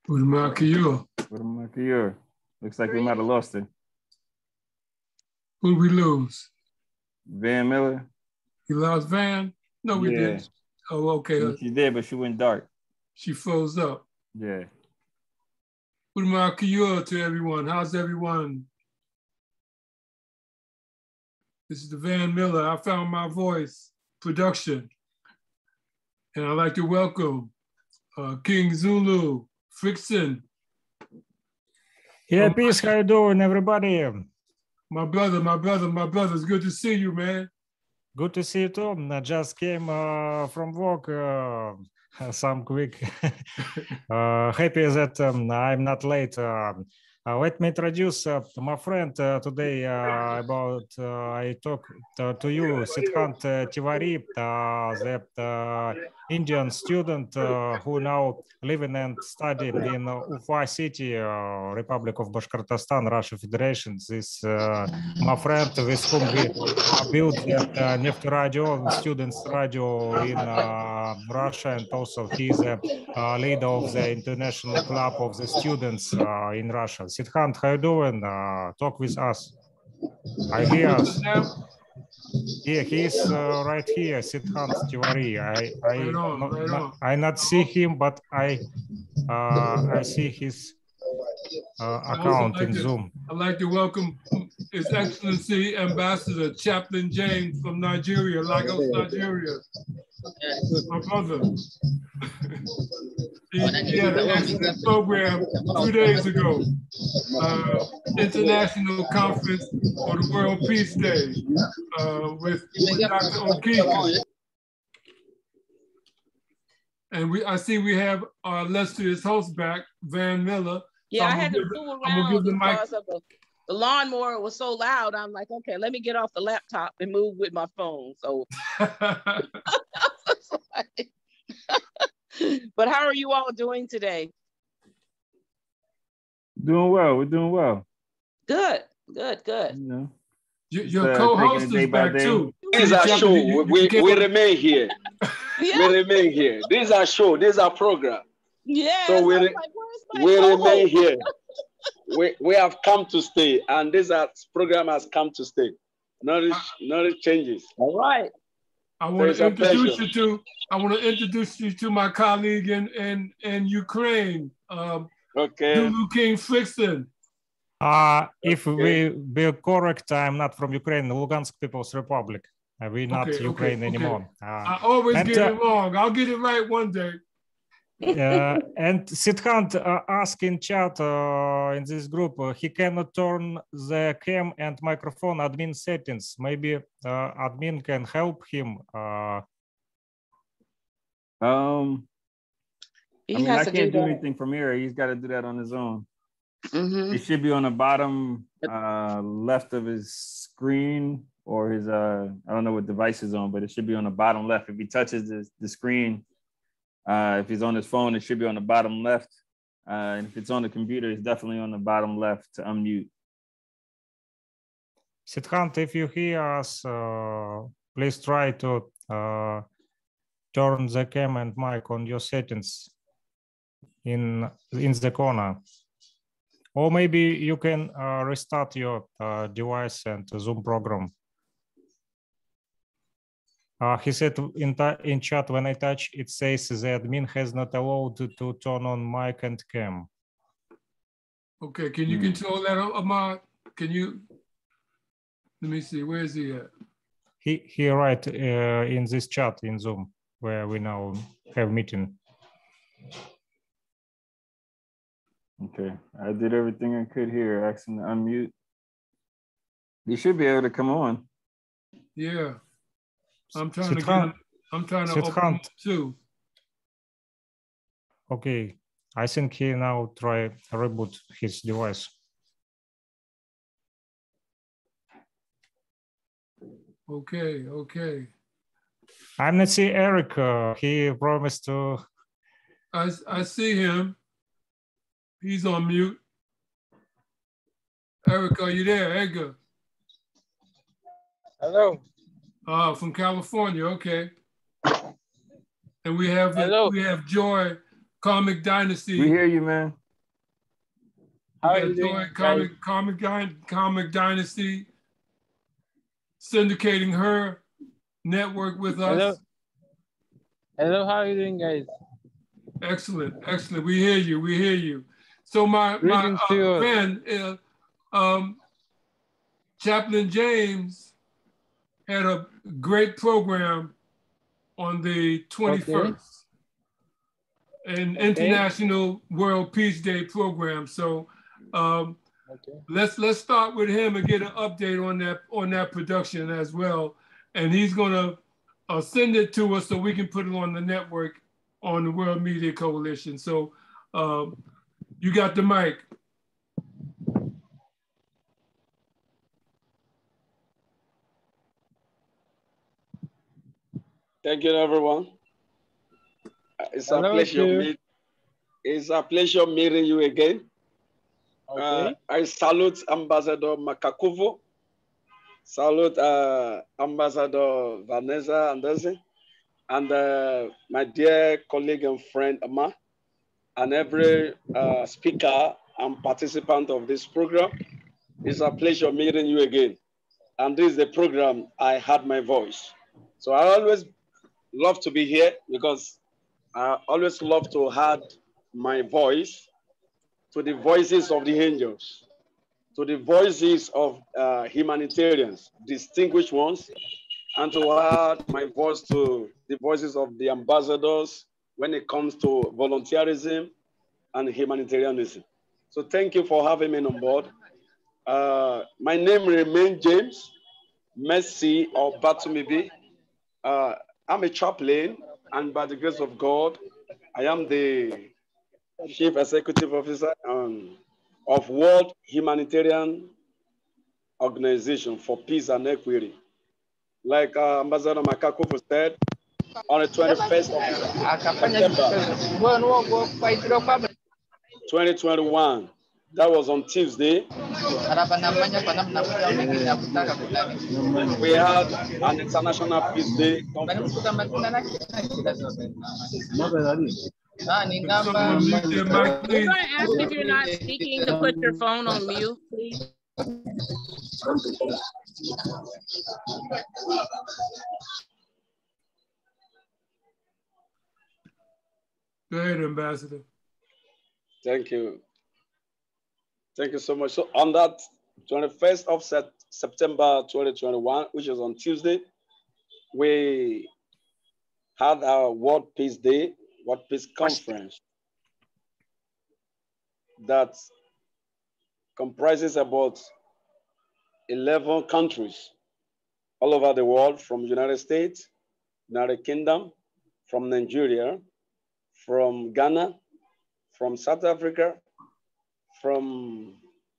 Udamakiyur. Udamakiyur. Looks like we might have lost it. Who'd we lose? Van Miller. You lost Van? No, we didn't. Oh, okay. Yeah, she did, but she went dark. She froze up. Yeah. Udamakiyur to everyone. How's everyone? This is the Van Miller. I Found My Voice production. And I'd like to welcome King Zulu, Frickson. Yeah, peace. How you doing, everybody? My brother. It's good to see you, man. Good to see you too. I just came from work. Some quick. Happy that I'm not late. Let me introduce my friend today about I talk to you, Siddhant Tiwari, the Indian student who now living and studying in Ufa city, Republic of Bashkortostan, Russia Federation. This my friend with whom we built the Neft Radio, students radio in Russia, and also he's a leader of the international club of the students in Russia. Siddhant, how you doing? Talk with us. I hear us. Yeah, he's right here, Siddhant Tiwari. I not see him, but I see his account in Zoom. I'd like to welcome His Excellency Ambassador Chaplain James from Nigeria, Lagos, Nigeria. My brother. He had an excellent program 2 days ago. International Conference for the World Peace Day with Dr. O'Keefe. And I see we have our illustrious host back, Van Miller. Yeah, so I had to fool around because of the lawnmower was so loud. I'm like, okay, let me get off the laptop and move with my phone. So, but how are you all doing today? Doing well. We're doing well. Good. You know, your co-host is back too. This is our show. We remain here. Yeah. We remain here. This is our show. This is our program. Yeah. So we remain here. We have come to stay, and this program has come to stay. Knowledge changes. All right. I want to introduce you to my colleague in Ukraine. Okay. Zulu King Frickson. If we be correct, I'm not from Ukraine, Lugansk People's Republic. We're not Ukraine anymore. I always get it wrong. I'll get it right one day. And Siddhant asked in chat in this group, he cannot turn the cam and microphone admin settings. Maybe admin can help him. I can't do anything from here. He's got to do that on his own. Mm-hmm. It should be on the bottom left of his screen, or his I don't know what device is on, but it should be on the bottom left. If he touches the screen, if he's on his phone, it should be on the bottom left. And if it's on the computer, it's definitely on the bottom left to unmute. Siddhant, if you hear us, please try to turn the cam and mic on your settings in the corner. Or maybe you can restart your device and Zoom program. He said in chat, when I touch, it says the admin has not allowed to turn on mic and cam. Okay, can you control that, Ahmad? Can you? Let me see, where is he at? He write in this chat in Zoom, where we now have meeting. Okay, I did everything I could here. Ask him to unmute. You should be able to come on. Yeah. I'm trying to open too. Okay, I think he now try reboot his device. Okay. I'm not see Eric. He promised to. I see him. He's on mute. Eric, are you there, Edgar? Hello. From California, okay. And we have Joy Comic Dynasty. We hear you, man. How are you doing, Comic Dynasty, syndicating her network with us. Hello. Hello, how are you doing, guys? Excellent, excellent. We hear you, we hear you. So my friend, Chaplain James had a great program on the 21st, an International World Peace Day program. So let's start with him and get an update on that production as well. And he's gonna send it to us so we can put it on the network on the World Media Coalition. So you got the mic. Thank you, everyone. It's a pleasure. It's a pleasure meeting you again. Okay. I salute Ambassador Makakuvu. Salute Ambassador Vanessa Anderson, and my dear colleague and friend Amma, and every speaker and participant of this program. It's a pleasure meeting you again. And this is the program I Had My Voice. So I always love to be here because I always love to add my voice to the voices of the angels, to the voices of humanitarians, distinguished ones, and to add my voice to the voices of the ambassadors when it comes to volunteerism and humanitarianism. So thank you for having me on board. My name remains James Messi or Batumibi. I'm a chaplain, and by the grace of God, I am the Chief Executive Officer of World Humanitarian Organization for Peace and Equity. Like Ambassador Makakufu said, on the 21st of September 2021, that was on Tuesday, we had an International Peace Day conference. Can I ask if you're not speaking to put your phone on mute, please? Go ahead, Ambassador. Thank you. Thank you so much. So on that 21st of September 2021, which is on Tuesday, we had our World Peace Day, World Peace Conference that comprises about 11 countries all over the world, from United States, United Kingdom, from Nigeria, from Ghana, from South Africa, from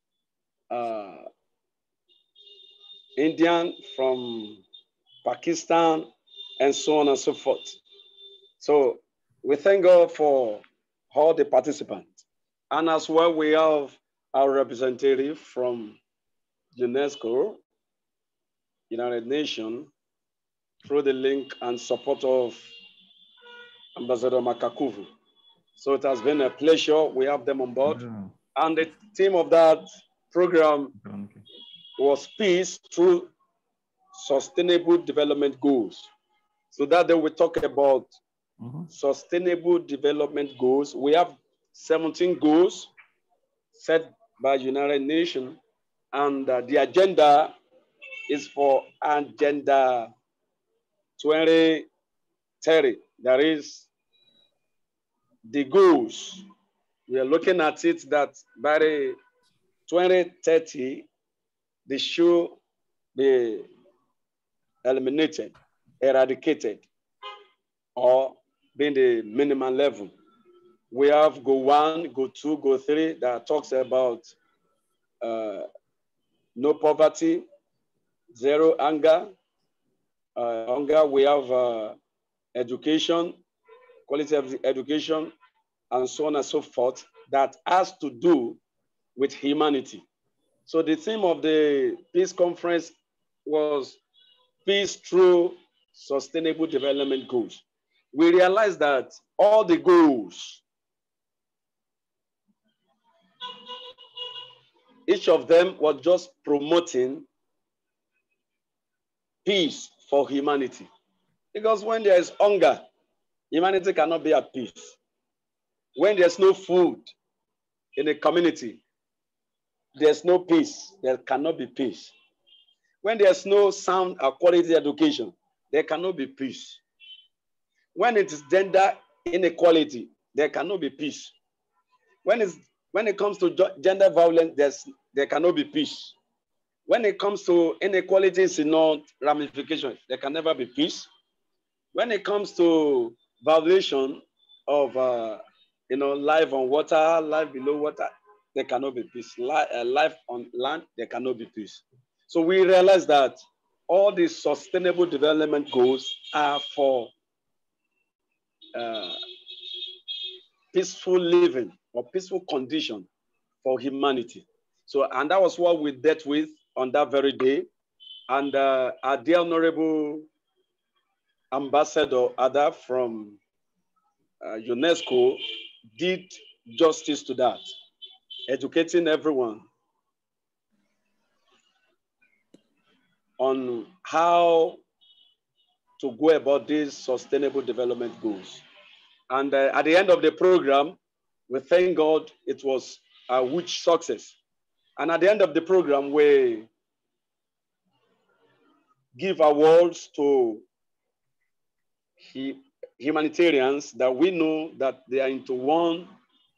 India, from Pakistan, and so on and so forth. So we thank God for all the participants. And as well, we have our representative from UNESCO, United Nations, through the link and support of Ambassador Makakuvu. So it has been a pleasure. We have them on board. And the theme of that program was Peace Through Sustainable Development Goals. So that day we talk about sustainable development goals. We have 17 goals set by United Nations, and the agenda is for Agenda 2030. That is the goals. We are looking at it that by the 2030, they should be eliminated, eradicated, or being the minimum level. We have Goal 1, Goal 2, Goal 3 that talks about no poverty, zero hunger. We have education, quality of education, and so on and so forth, that has to do with humanity. So the theme of the Peace Conference was Peace Through Sustainable Development Goals. We realized that all the goals each of them was just promoting peace for humanity. Because when there is hunger, humanity cannot be at peace. When there's no food in a community, there's no peace. There cannot be peace. When there's no sound or quality education, there cannot be peace. When it is gender inequality, there cannot be peace. When it comes to gender violence, there cannot be peace. When it comes to inequalities in all ramifications, there can never be peace. When it comes to violation of life on water, life below water, there cannot be peace. Life on land, there cannot be peace. So we realize that all these sustainable development goals are for peaceful living or peaceful condition for humanity. So, and that was what we dealt with on that very day. And our dear Honorable Ambassador Ada from UNESCO did justice to that, educating everyone on how to go about these sustainable development goals. And at the end of the program, we thank God it was a huge success. And at the end of the program, we give awards to humanitarians that we know that they are into one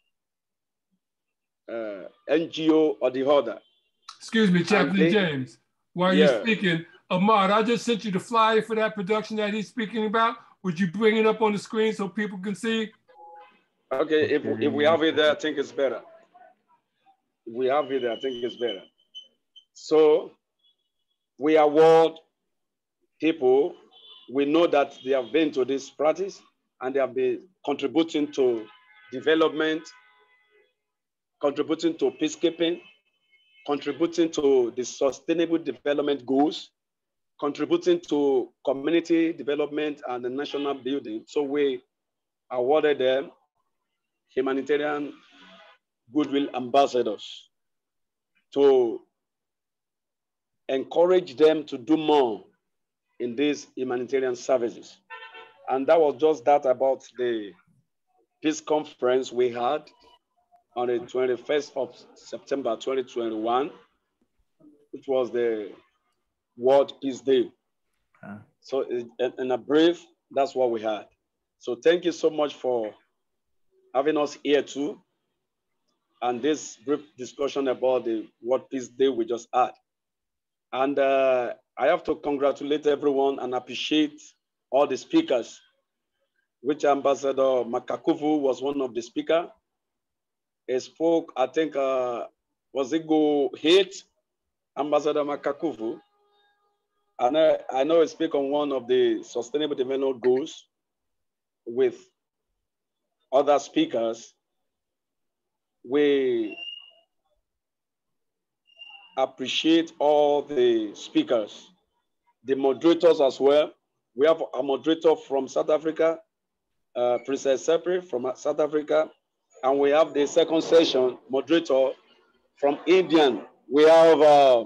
NGO or the other. Excuse me, Chaplain James. While you're speaking, Ahmad, I just sent you the flyer for that production that he's speaking about. Would you bring it up on the screen so people can see? Okay, if we have it there, I think it's better. If we have it there, I think it's better. So we award people, we know that they have been to this practice and they have been contributing to development, contributing to peacekeeping, contributing to the sustainable development goals, contributing to community development and the national building. So we awarded them humanitarian goodwill ambassadors to encourage them to do more in these humanitarian services. And that was just that about the peace conference we had on the 21st of September 2021, which was the World Peace Day. So in a brief, that's what we had. So thank you so much for having us here too. And this brief discussion about the World Peace Day we just had. And I have to congratulate everyone and appreciate all the speakers, which Ambassador Makakuvu was one of the speakers. He spoke, I think, was it Go Hate, Ambassador Makakuvu. And I know he speak on one of the sustainable development goals with other speakers. We appreciate all the speakers, the moderators as well. We have a moderator from South Africa, Princess Sepri from South Africa, and we have the second session moderator from India. We have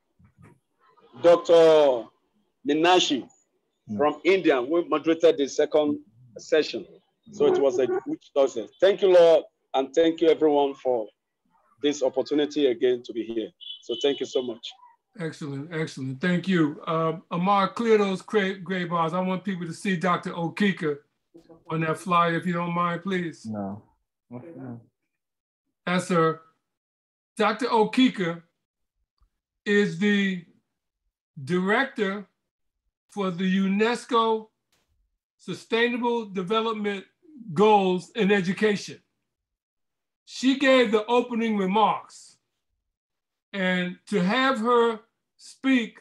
Dr. Minashi from India. We moderated the second session. So it was a huge success. Thank you, Lord, and thank you everyone for this opportunity again to be here. So thank you so much. Excellent, excellent. Thank you. Amar, clear those gray bars. I want people to see Dr. Okika on that flyer, if you don't mind, please. No. Yes, sir. Dr. Okika is the director for the UNESCO Sustainable Development Goals in Education. She gave the opening remarks, and to have her speak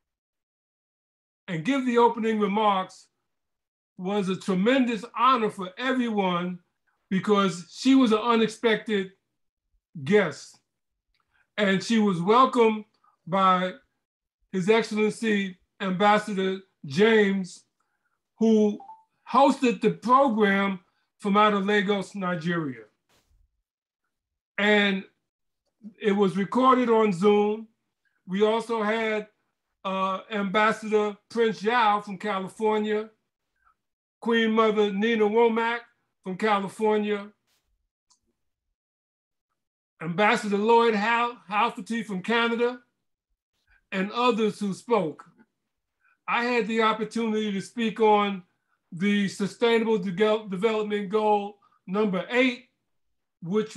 and give the opening remarks was a tremendous honor for everyone because she was an unexpected guest. And she was welcomed by His Excellency Ambassador James, who hosted the program from out of Lagos, Nigeria. And it was recorded on Zoom. We also had Ambassador Prince Yao from California, Queen Mother Nina Womack from California, Ambassador Lloyd Halferty from Canada, and others who spoke. I had the opportunity to speak on the Sustainable Development Goal number 8, which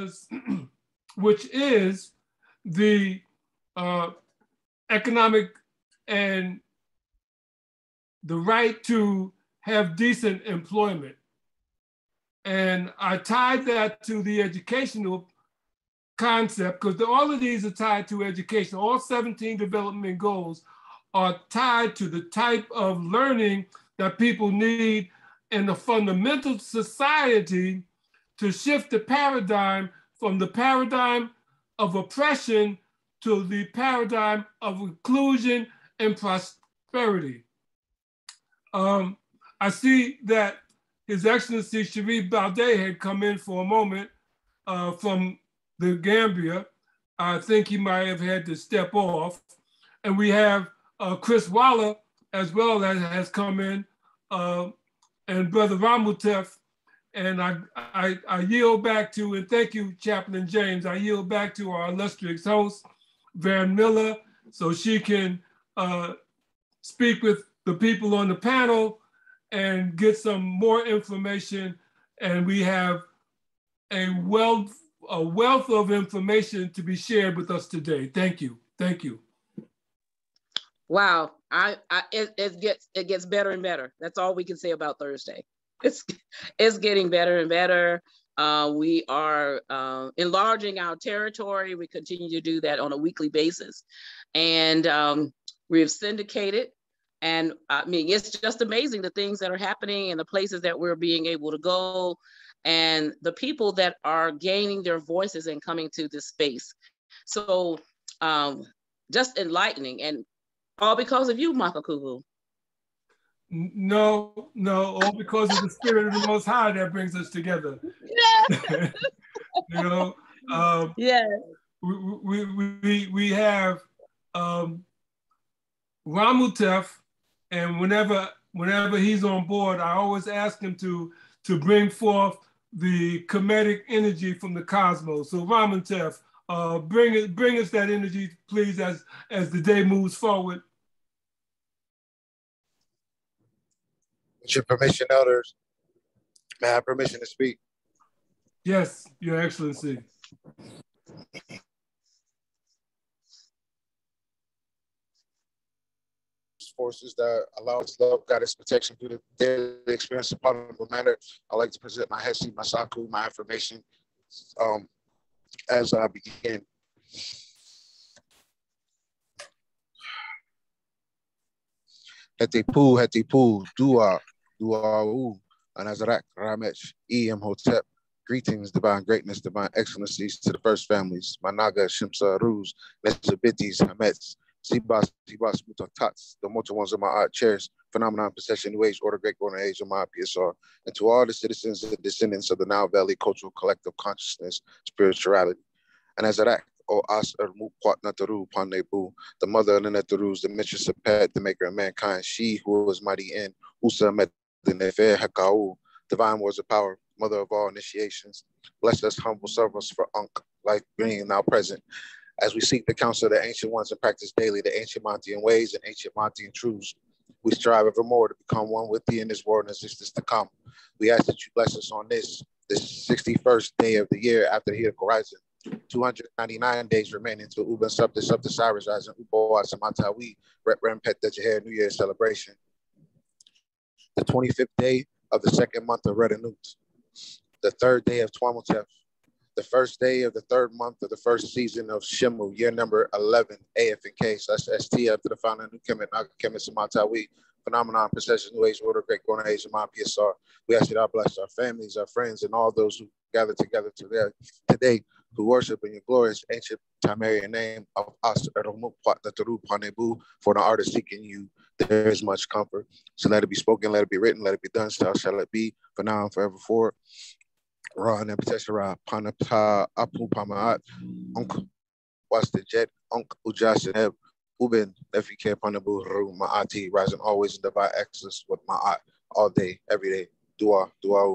is the economic and the right to have decent employment. And I tied that to the educational concept, because all of these are tied to education. All 17 development goals are tied to the type of learning that people need in the fundamental society to shift the paradigm from the paradigm of oppression to the paradigm of inclusion and prosperity. I see that His Excellency Sharif Balde had come in for a moment from the Gambia. I think he might have had to step off. And we have Chris Waller as well as has come in, and Brother Ramutef. And I yield back to, and thank you, Chaplain James, I yield back to our illustrious host, Van Miller, so she can speak with the people on the panel and get some more information. And we have a wealth of information to be shared with us today. Thank you. Thank you. Wow, it gets better and better. That's all we can say about Thursday. It's getting better and better. We are enlarging our territory. We continue to do that on a weekly basis. And we've syndicated. And I mean, it's just amazing the things that are happening and the places that we're being able to go and the people that are gaining their voices and coming to this space. So just enlightening, and all because of you, Makakuvu. No, all because of the spirit of the Most High that brings us together. Yeah. You know, yeah. We have Ramutef, and whenever he's on board, I always ask him to bring forth the Kemetic energy from the cosmos. So Ramutef, bring us that energy, please, as the day moves forward. With your permission, elders, may I have permission to speak? Yes, Your Excellency. Forces that allow us love, guidance, protection through the daily experience in a positive manner. I'd like to present my Hesi, my Saku, my affirmation as I begin. Hetipu, Dua, Anazarak, Ramech, Hotep. Greetings, divine greatness, divine excellencies to the first families, Managa, Shimsa, Ruz, Nesabitis, Hamets, Sibas, Mutats, the mortal ones of my art chairs, phenomenon, possession, new age, order, great golden age of my PSR, and to all the citizens and descendants of the Nile Valley cultural collective consciousness, spirituality. And as that, O As Mukwat Nataru Panebu, the mother of the Natarus, the mistress of Pet, the maker of mankind, she who was mighty in Usa Met the Nefer Hakau, divine words of power, mother of all initiations. Bless us, humble servants for Ankh, life being now present. As we seek the counsel of the ancient ones and practice daily the ancient Montean ways and ancient Montean truths, we strive evermore to become one with thee in this world and existence to come. We ask that you bless us on this 61st day of the year after the Hidden Horizon. 299 days remaining to Uban Subta Cyrus Rising Uboa Samatawi Rem Pet Dejaher New Year celebration. The 25th day of the second month of Redanut. The third day of Twamutef. The first day of the third month of the first season of Shimu, year number 11, AF and K. So that's ST after the founder of New Kemet, Naga Kemet, Samatawi, phenomenon, procession, new age, order, great golden age, of my PSR. We ask you to bless our families, our friends, and all those who gather together today who worship in your glorious ancient Tamarian name of As Nataru Panebu, for the artist seeking you. There is much comfort. So let it be spoken, let it be written, let it be done, so shall it be, for now and forever forward. Ra Nepeteshara Panata Apu Pamaat Unc was the jet Unc Ujas and Heb Uben Nefike Panabu Ru Maati rising always in divine excellence with Ma'at all day, every day. Dua.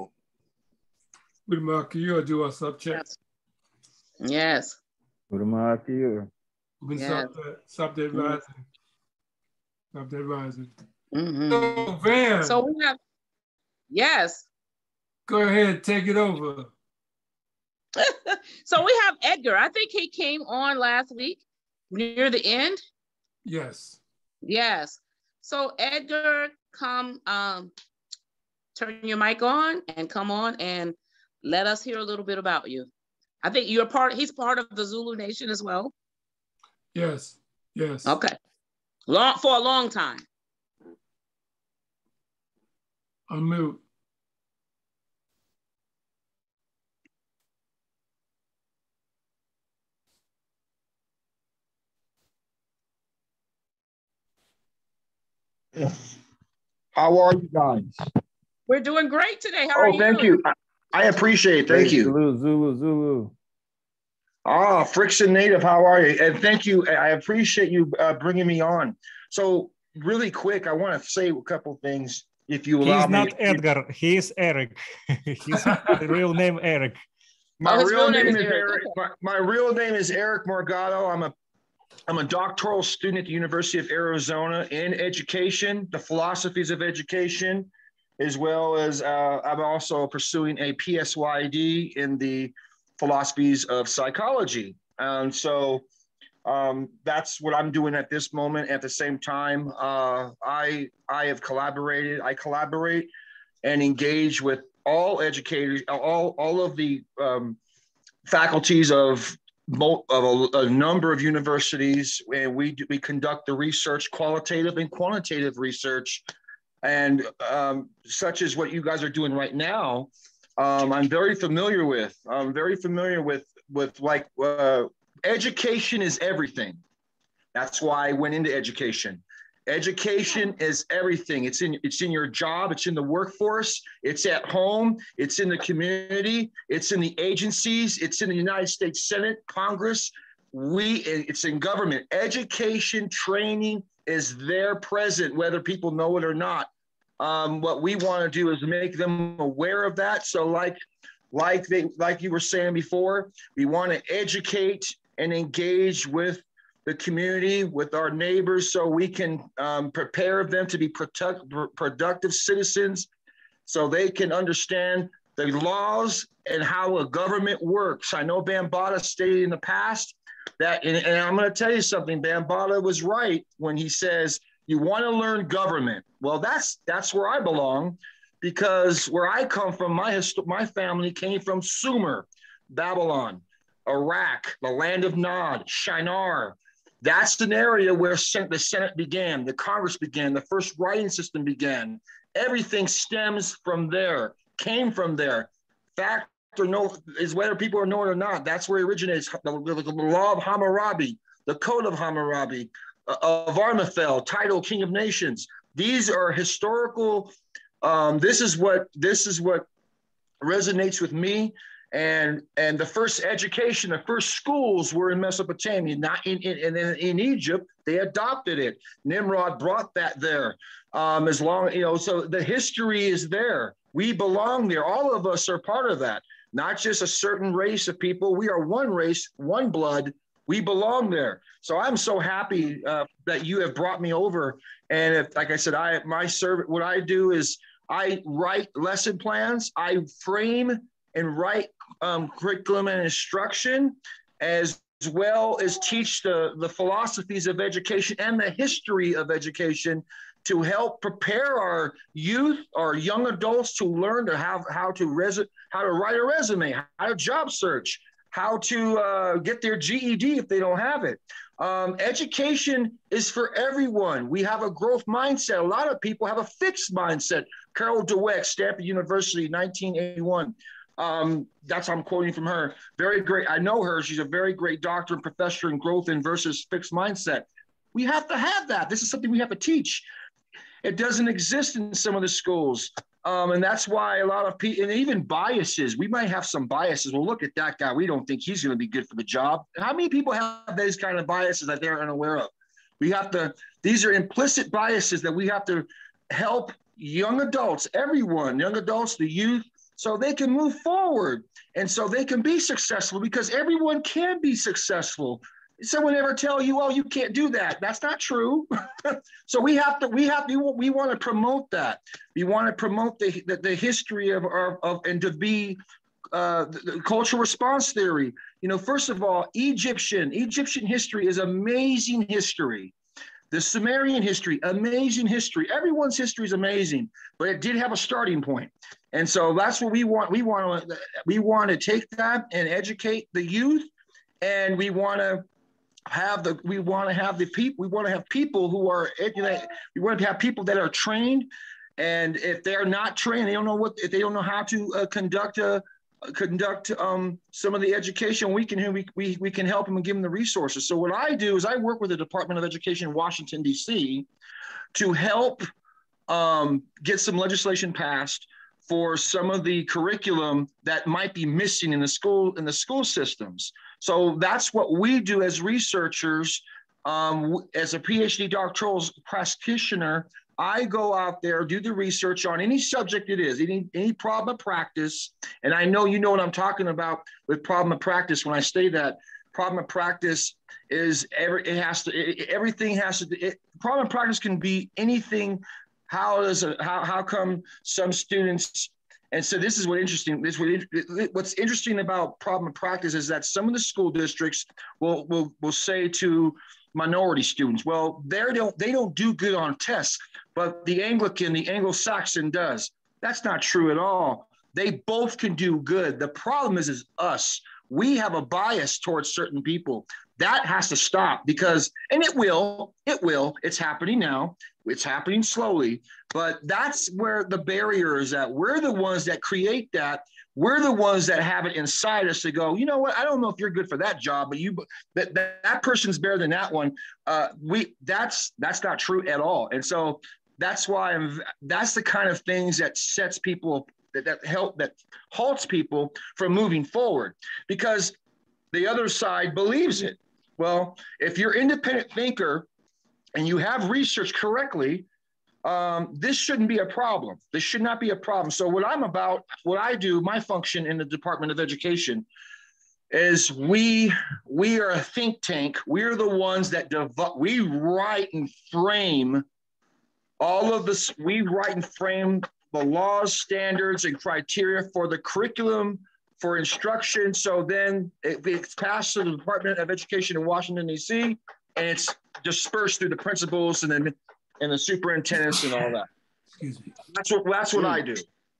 With Mark, you do a subject. Yes. With Mark, you. Stop that rising. Stop that rising. Mm-hmm. So, Van. So we have, yes. Go ahead, take it over. So we have Edgar. I think he came on last week near the end. Yes. Yes. So Edgar, come turn your mic on and come on and let us hear a little bit about you. I think he's part of the Zulu Nation as well. Yes. Okay. For a long time. Unmute. How are you guys? We're doing great today. How are you? Thank you. I appreciate it. Thank you. Zulu. Friction Native, how are you? And thank you. I appreciate you bringing me on. So really quick, I want to say a couple things, if you allow me. He's not Edgar. He's Eric. His real name Eric. My real name is Eric. My real name is Eric Morgado. I'm a doctoral student at the University of Arizona in education, the philosophies of education, as well as I'm also pursuing a PSYD in the philosophies of psychology. And so that's what I'm doing at this moment. At the same time, I collaborate and engage with all educators, all of the faculties of a number of universities, and we conduct the research, qualitative and quantitative research, and such as what you guys are doing right now. I'm very familiar with. Like education is everything. That's why I went into education. Education is everything. It's in your job. It's in the workforce. It's at home. It's in the community. It's in the agencies. It's in the United States Senate, Congress. It's in government. Education, training is there present, whether people know it or not. What we want to do is make them aware of that. So like you were saying before, we want to educate and engage with the community, with our neighbors, so we can prepare them to be productive citizens, so they can understand the laws and how a government works. I know Bambaataa stated in the past that, and I'm going to tell you something, Bambaataa was right when he says, you want to learn government. Well, that's where I belong, because where I come from, my family came from Sumer, Babylon, Iraq, the land of Nod, Shinar. That's an area where the Senate began, the Congress began, the first writing system began. Everything stems from there, came from there. Fact or no, is whether people know it or not, that's where it originates. The law of Hammurabi, the code of Hammurabi, of Armathel, title King of Nations. These are historical. This is what resonates with me. And the first education, the first schools were in Mesopotamia, not in Egypt. They adopted it. Nimrod brought that there. So the history is there. We belong there. All of us are part of that. Not just a certain race of people. We are one race, one blood. We belong there. So I'm so happy that you have brought me over. And like I said, what I do is I write lesson plans. I frame and write curriculum and instruction, as well as teach the philosophies of education and the history of education to help prepare our youth, our young adults to learn to how to write a resume, how to job search, how to get their GED if they don't have it. Education is for everyone. We have a growth mindset. A lot of people have a fixed mindset. Carol Dweck, Stanford University, 1981. I'm quoting from her. Very great. I know her. She's a very great doctor and professor in growth and versus fixed mindset. We have to have that. This is something we have to teach. It doesn't exist in some of the schools. And that's why a lot of people, and even biases, we might have some biases. Well, look at that guy. We don't think he's going to be good for the job. How many people have these kind of biases that they're unaware of? We have to, these are implicit biases that we have to help young adults, everyone, young adults, the youth, so they can move forward and so they can be successful, because everyone can be successful. Someone ever tell you, oh, you can't do that? That's not true. So we want to promote that. We want to promote the history of and to be the cultural response theory. You know, first of all, Egyptian history is amazing history. The Sumerian history, amazing history. Everyone's history is amazing, but it did have a starting point. And so that's what we want. We want to take that and educate the youth, and we want to have people who are educated. We want to have people that are trained, and if they're not trained, they don't know how to conduct some of the education. We can help them and give them the resources. So what I do is I work with the Department of Education in Washington, D.C. to help get some legislation passed for some of the curriculum that might be missing in the school systems. So that's what we do as researchers. As a PhD doctoral practitioner, I go out there, do the research on any subject it is, any problem of practice. And I know you know what I'm talking about with problem of practice when I say that. Problem of practice is problem of practice can be anything. How come some students, and so this is what's interesting about problem of practice is that some of the school districts will say to minority students, well, they don't do good on tests, but the Anglo-Saxon does. That's not true at all. They both can do good. The problem is us. We have a bias towards certain people. That has to stop, because, and it will, it's happening now. It's happening slowly, but that's where the barrier is at. We're the ones that create that. We're the ones that have it inside us to go, you know what? I don't know if you're good for that job, but that person's better than that one. That's not true at all. And so that's why that's the kind of things that sets people, that halts people from moving forward, because the other side believes it. Well, if you're an independent thinker and you have research correctly, this shouldn't be a problem. This should not be a problem. So what I do, my function in the Department of Education is we are a think tank. We're the ones that we write and frame all of this. We write and frame the laws, standards, and criteria for the curriculum, for instruction. So then it's passed to the Department of Education in Washington, D.C., and it's dispersed through the principals and the superintendents and all that. Excuse me. That's what I do.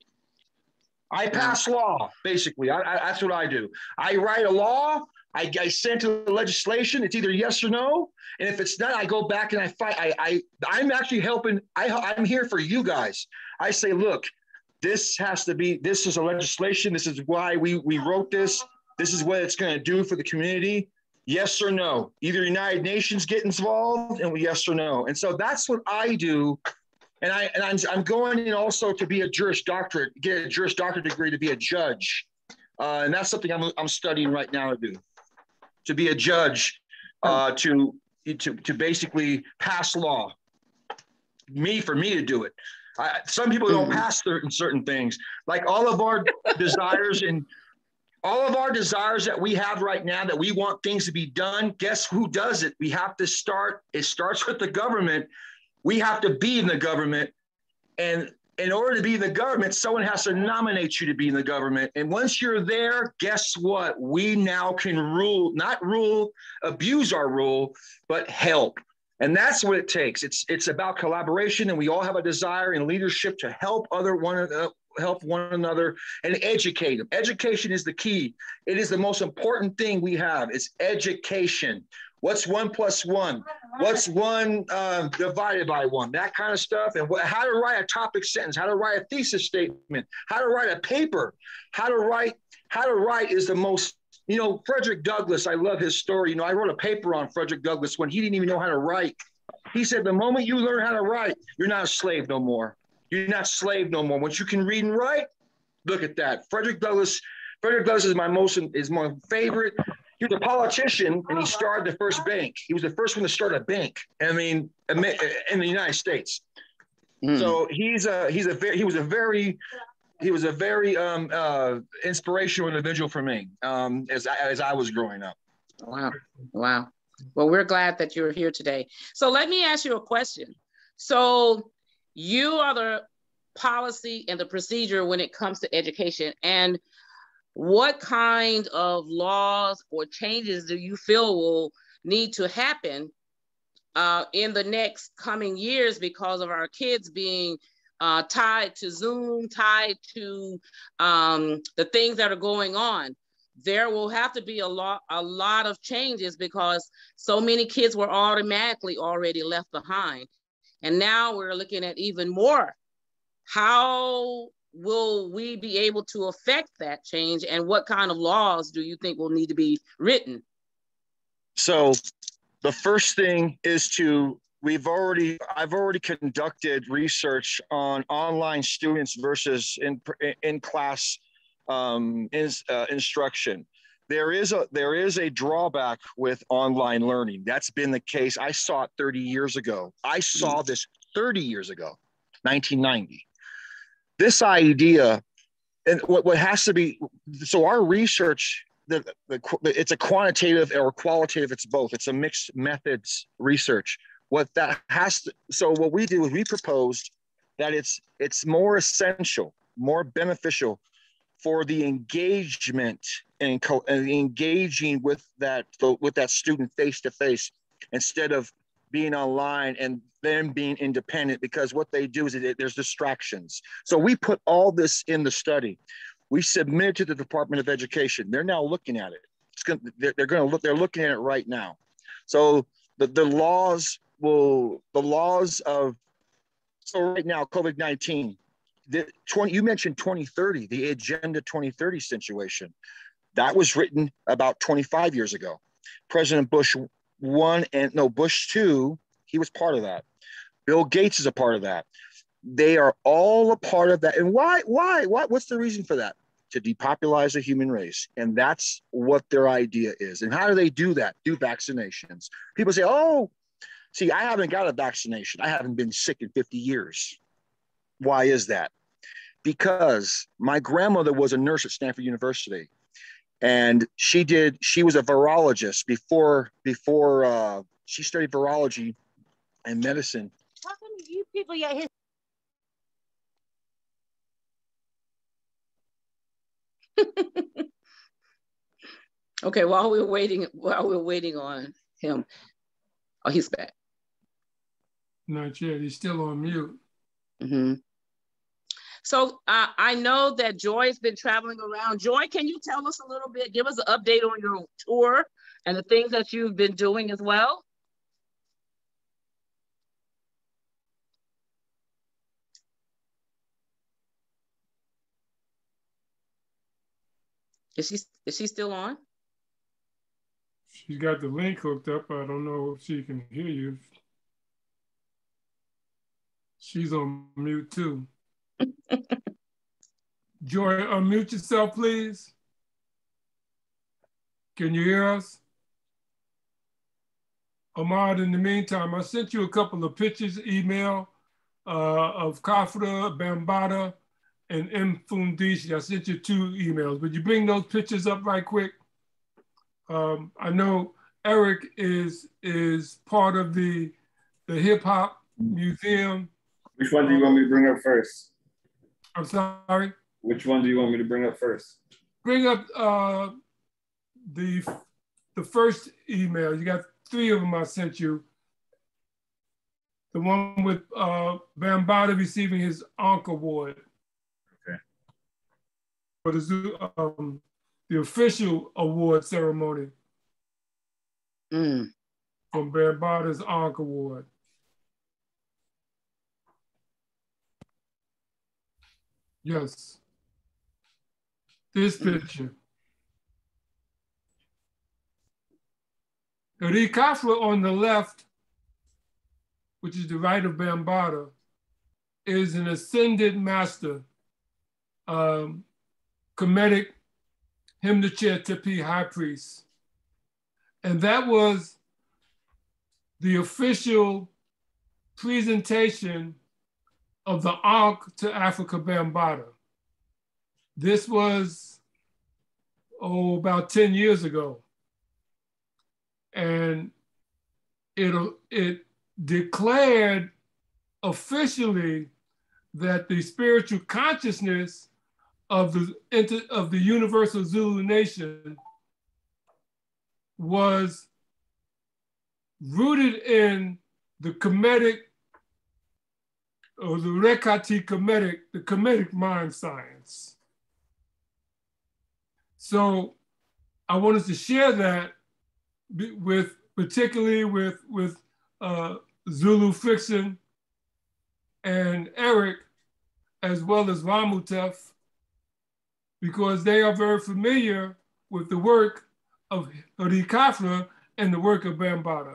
I pass law, basically. That's what I do. I write a law. I send to the legislation. It's either yes or no. And if it's not, I go back and I fight. I'm actually helping. I'm here for you guys. I say, look, this is a legislation. This is why we wrote this. This is what it's going to do for the community. Yes or no. Either United Nations get involved, and yes or no. And so that's what I do. And I'm going in also to be a Juris Doctorate, get a Juris Doctorate degree to be a judge. And that's something I'm studying right now to do. To be a judge, to basically pass law. For me to do it. Some people don't pass certain things, like all of our desires and all of our desires that we have right now, that we want things to be done. Guess who does it? We have to start. It starts with the government. We have to be in the government. And in order to be in the government, someone has to nominate you to be in the government. And once you're there, guess what? We now can not abuse our rule, but help. And that's what it takes. It's about collaboration, and we all have a desire in leadership to help one another and educate them. Education is the key. It is the most important thing we have. It's education. What's 1 + 1? What's 1 divided by 1? That kind of stuff. And how to write a topic sentence, how to write a thesis statement, how to write a paper, how to write is the most. You know, Frederick Douglass, I love his story. I wrote a paper on Frederick Douglass when he didn't even know how to write. He said, the moment you learn how to write, you're not a slave no more. You're not slave no more. Once you can read and write, look at that. Frederick Douglass is my favorite. He was a politician, and he started the first bank. He was the first one to start a bank. I mean, in the United States. So he was a very inspirational individual for me as I was growing up. Wow. Wow. Well, we're glad that you're here today. So let me ask you a question. So you are the policy and the procedure when it comes to education. And what kind of laws or changes do you feel will need to happen in the next coming years because of our kids being tied to Zoom, tied to the things that are going on? There will have to be a lot of changes because so many kids were automatically already left behind. And now we're looking at even more. How will we be able to affect that change? And what kind of laws do you think will need to be written? So the first thing is I've already conducted research on online students versus in-class instruction. There is a drawback with online learning. That's been the case. I saw it 30 years ago. I saw this 30 years ago, 1990. This idea, and what has to be, so our research, it's a quantitative or qualitative, it's both. It's a mixed methods research. What we do is we proposed that it's more essential, more beneficial for the engagement and engaging with that student face to face instead of being online and them being independent, because what they do is there's distractions. So we put all this in the study. We submitted to the Department of Education. They're now looking at it. They're looking at it right now. So the laws of, so right now, COVID-19, you mentioned 2030, the Agenda 2030 situation. That was written about 25 years ago. President Bush Bush 2, he was part of that. Bill Gates is a part of that. They are all a part of that. And why? What's the reason for that? To depopulize the human race. And that's what their idea is. And how do they do that? Through vaccinations. People say, oh, see, I haven't got a vaccination. I haven't been sick in 50 years. Why is that? Because my grandmother was a nurse at Stanford University. And she was a virologist before she studied virology and medicine. How come you people get his? Okay, while we're waiting on him. Oh, he's back. Not yet, he's still on mute. Mm-hmm. So I know that Joy's been traveling around. Joy, can you tell us a little bit, give us an update on your tour and the things that you've been doing as well? Is she still on? She's got the link hooked up. I don't know if she can hear you. She's on mute too. Joy, unmute yourself, please. Can you hear us? Ahmad, in the meantime, I sent you a couple of pictures, email of Kafra, Bambaataa, and Mfundisi. I sent you 2 emails. Would you bring those pictures up right quick? I know Eric is part of the Hip Hop Museum. Which one do you want me to bring up first? I'm sorry? Which one do you want me to bring up first? Bring up the first email. You got 3 of them I sent you. The one with Bambaataa receiving his Ankh Award. Okay. For the official award ceremony from Bambaataa's Ankh Award. Yes. This picture. Eri Kafra on the left, which is the right of Bambaataa, is an ascended master, Kemetic Himnachir Tepi High Priest. And that was the official presentation of the Ankh to Africa Bambaataa. This was, about 10 years ago. And it declared officially that the spiritual consciousness of the Universal Zulu Nation was rooted in the Kemetic, or the Rekati Kemetic, the Kemetic mind science. So I wanted to share that particularly with Zulu Fiction and Eric, as well as Ramutef, because they are very familiar with the work of Hurikafra and the work of Bambaataa.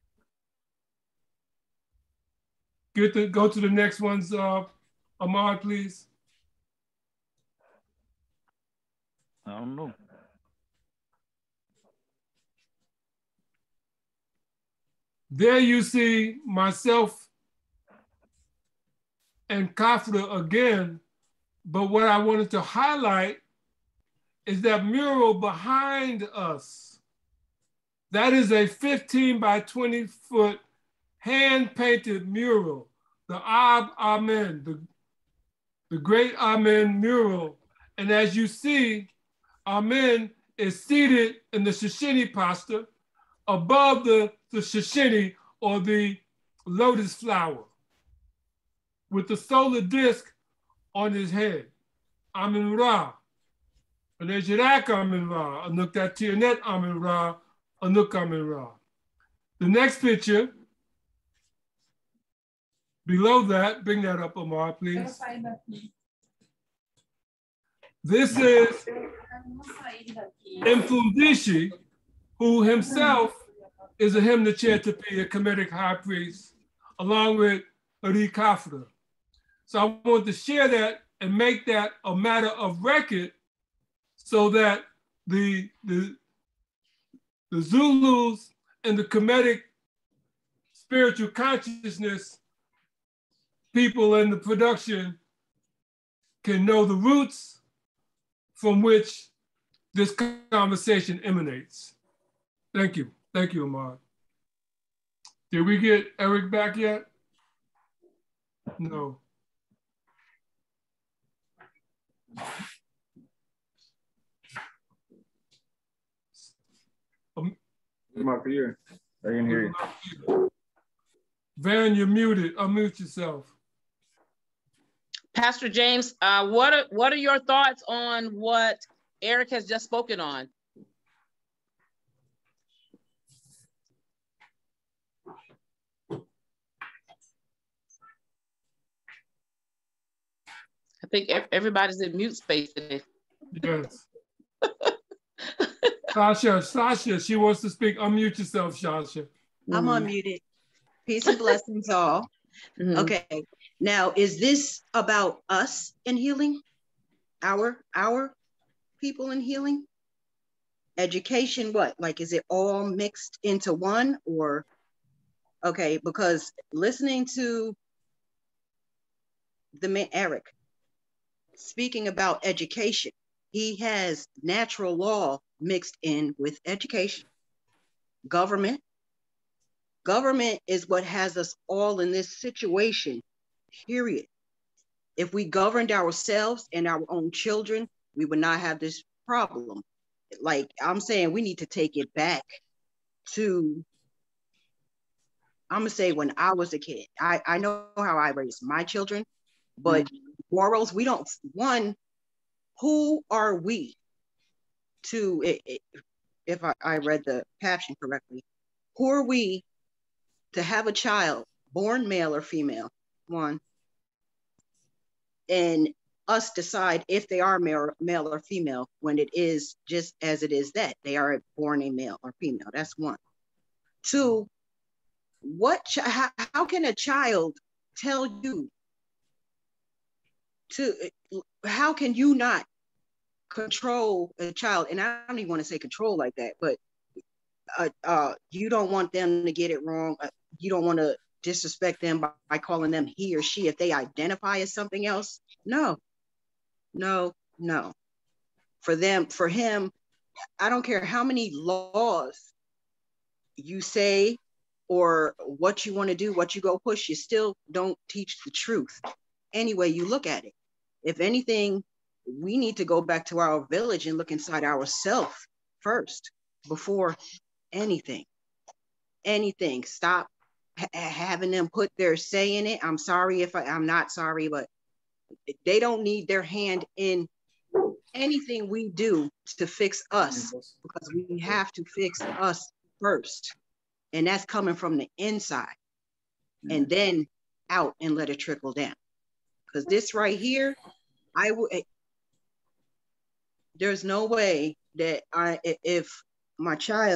Go to the next ones, Ahmad, please. I don't know. There you see myself and Kafra again, but what I wanted to highlight is that mural behind us. That is a 15 by 20 foot hand-painted mural, the Ab Amen, the great Amen mural. And as you see, Amen is seated in the Shishini posture above the Shishini, or the lotus flower, with the solar disk on his head. Amen Ra. Anejirak Amen Ra. Anuk Tatianet Amen Ra. Anuk Amen Ra. The next picture, below that, bring that up, Amar, please. This is Mfundishi, who himself is a Himnachir Tepi, a Kemetic high priest, along with Hurikafra. So I want to share that and make that a matter of record so that the Zulus and the Kemetic spiritual consciousness people in the production can know the roots from which this conversation emanates. Thank you. Thank you, Ahmad. Did we get Eric back yet? No. Mark, here. I can hear you. Van, you're muted. Unmute yourself. Pastor James, what are your thoughts on what Eric has just spoken on? I think everybody's in mute space today. Yes. Sasha, she wants to speak. Unmute yourself, Sasha. I'm unmuted. Peace and blessings all. Okay, now is this about us in healing? Our people in healing? Education, what? Like, is it all mixed into one, or? Okay, because listening to the man, Eric, speaking about education, he has natural law mixed in with education. Government is what has us all in this situation, period. If we governed ourselves and our own children, we would not have this problem. Like I'm saying, we need to take it back to, I'm gonna say when I was a kid. I know how I raised my children, but morals, we don't, one, who are we to, if I read the caption correctly, who are we to have a child born male or female, one, and us decide if they are male or female when it is just as it is that they are born a male or female. That's one. Two, how can a child tell you how can you not control a child? And I don't even want to say control like that, but you don't want them to get it wrong. You don't want to disrespect them by calling them he or she if they identify as something else. No. For him, I don't care how many laws you say or what you want to do, what you go push, you still don't teach the truth. Any way you look at it. If anything, we need to go back to our village and look inside ourselves first before anything. Stop having them put their say in it. I'm sorry if I'm not sorry, but they don't need their hand in anything we do to fix us, because we have to fix us first. And that's coming from the inside and then out and let it trickle down. Because this right here, there's no way that if my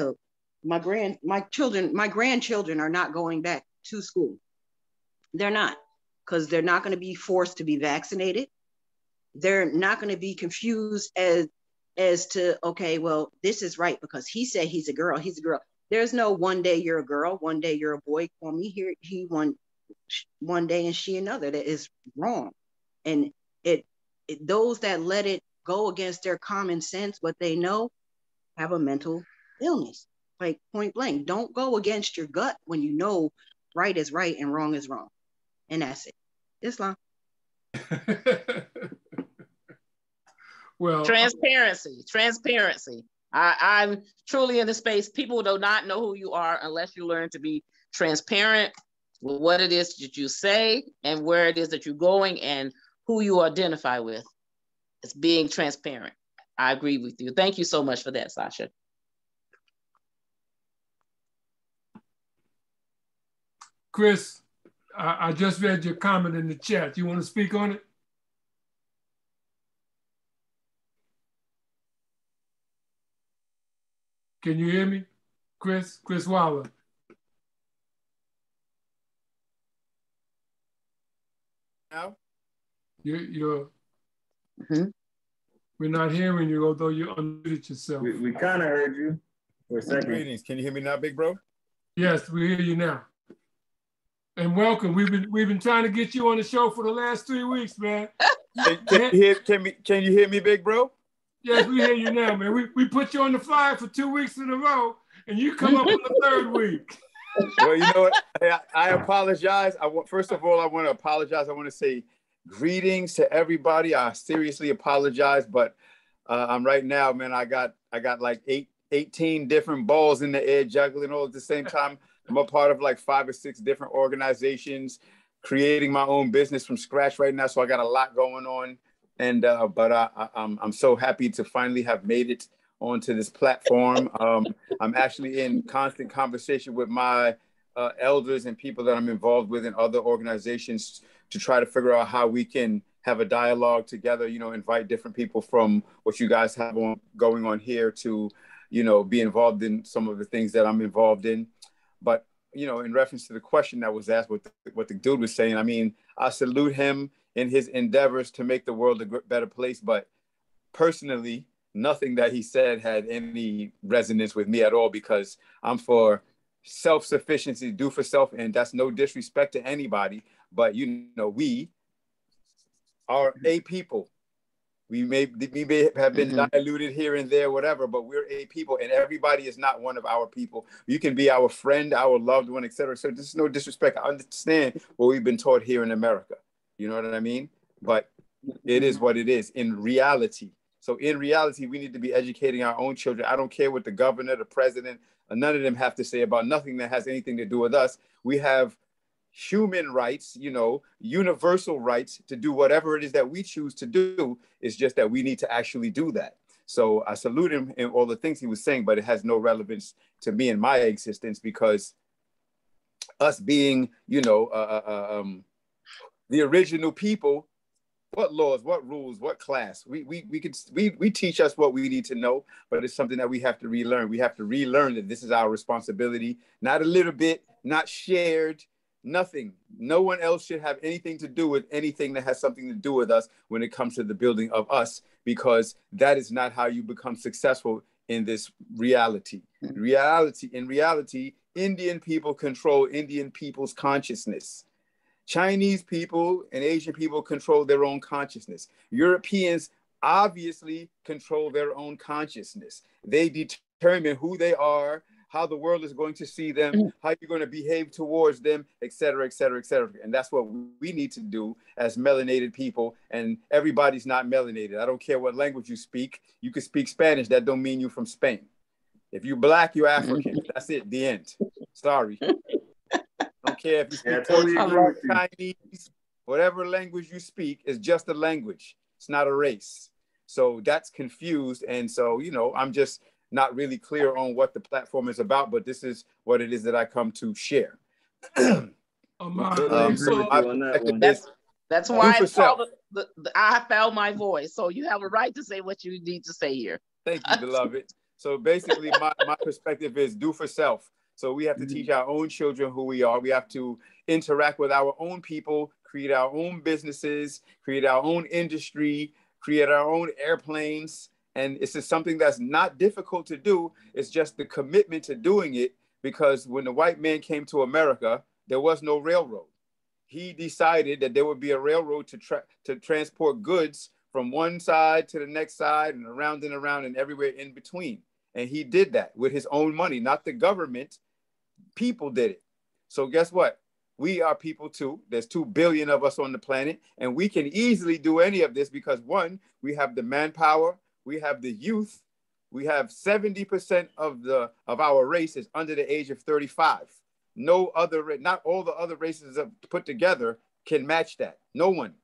grandchildren are not going back to school. They're not, because they're not going to be forced to be vaccinated. They're not going to be confused as to, okay, well, this is right because he said he's a girl. There's no one day you're a girl, one day you're a boy. Call me here, he one day and she another. That is wrong. And those that let it go against their common sense, what they know, have a mental illness. Like point blank, don't go against your gut when you know right is right and wrong is wrong. And that's it. Islam. Well, transparency. I'm truly in the space. People do not know who you are unless you learn to be transparent with what it is that you say and where it is that you're going and who you identify with. It's being transparent. I agree with you. Thank you so much for that, Sasha. Chris, I just read your comment in the chat. You want to speak on it? Can you hear me? Chris Waller. Now? We're not hearing you, although you unmuted yourself. We kind of heard you for a second. Greetings. Can you hear me now, big bro? Yes, we hear you now. And welcome. We've been trying to get you on the show for the last 3 weeks, man. Can you hear me, big bro? Yes, we hear you now, man. We put you on the flyer for 2 weeks in a row, and you come up on the third week. Well, you know what? I apologize. First of all, I want to apologize. I want to say greetings to everybody. I seriously apologize, but I'm right now, man. I got like 18 different balls in the air juggling all at the same time. I'm a part of like 5 or 6 different organizations, creating my own business from scratch right now. So I got a lot going on. And but I'm so happy to finally have made it onto this platform. I'm actually in constant conversation with my elders and people that I'm involved with in other organizations to try to figure out how we can have a dialogue together, you know, invite different people from what you guys have going on here to, you know, be involved in some of the things that I'm involved in. But, you know, in reference to the question that was asked, what the dude was saying, I mean, I salute him in his endeavors to make the world a better place. But personally, nothing that he said had any resonance with me at all, because I'm for self-sufficiency, do for self, and that's no disrespect to anybody. But, you know, we are a people. We may have been diluted here and there, whatever, but we're a people, and everybody is not one of our people. You can be our friend, our loved one, etc. So there's no disrespect. I understand what we've been taught here in America. You know what I mean? But it is what it is in reality. So in reality, we need to be educating our own children. I don't care what the governor, the president, none of them have to say about nothing that has anything to do with us. We have human rights, you know, universal rights to do whatever it is that we choose to do. It's just that we need to actually do that. So I salute him in all the things he was saying, but it has no relevance to me in my existence, because us being, you know, the original people, what laws, what rules, what class, we teach us what we need to know, but it's something that we have to relearn. We have to relearn that this is our responsibility, not a little bit, not shared, Nothing. No one else should have anything to do with anything that has something to do with us when it comes to the building of us, because that is not how you become successful in this reality. In reality, Indian people control Indian people's consciousness. Chinese people and Asian people control their own consciousness. Europeans obviously control their own consciousness. They determine who they are, how the world is going to see them, how you're going to behave towards them, et cetera, et cetera, et cetera. And that's what we need to do as melanated people. And everybody's not melanated. I don't care what language you speak. You can speak Spanish. That don't mean you're from Spain. If you're Black, you're African. That's it. The end. Sorry. I don't care if you speak Portuguese, Chinese, whatever language you speak is just a language. It's not a race. So that's confused. And so, you know, I'm just not really clear on what the platform is about, but this is what it is that I come to share. That's why it's called I found my voice. So you have a right to say what you need to say here. Thank you, beloved. So basically my perspective is do for self. So we have to teach our own children who we are. We have to interact with our own people, create our own businesses, create our own industry, create our own airplanes. And it's just something that's not difficult to do. It's just the commitment to doing it, because when the white man came to America, there was no railroad. He decided that there would be a railroad to transport goods from one side to the next side and around and everywhere in between. And he did that with his own money, not the government. People did it. So guess what? We are people too. There's 2 billion of us on the planet, and we can easily do any of this because, one, we have the manpower, we have the youth, we have 70% of our race is under the age of 35. No other, not all the other races put together can match that. No one.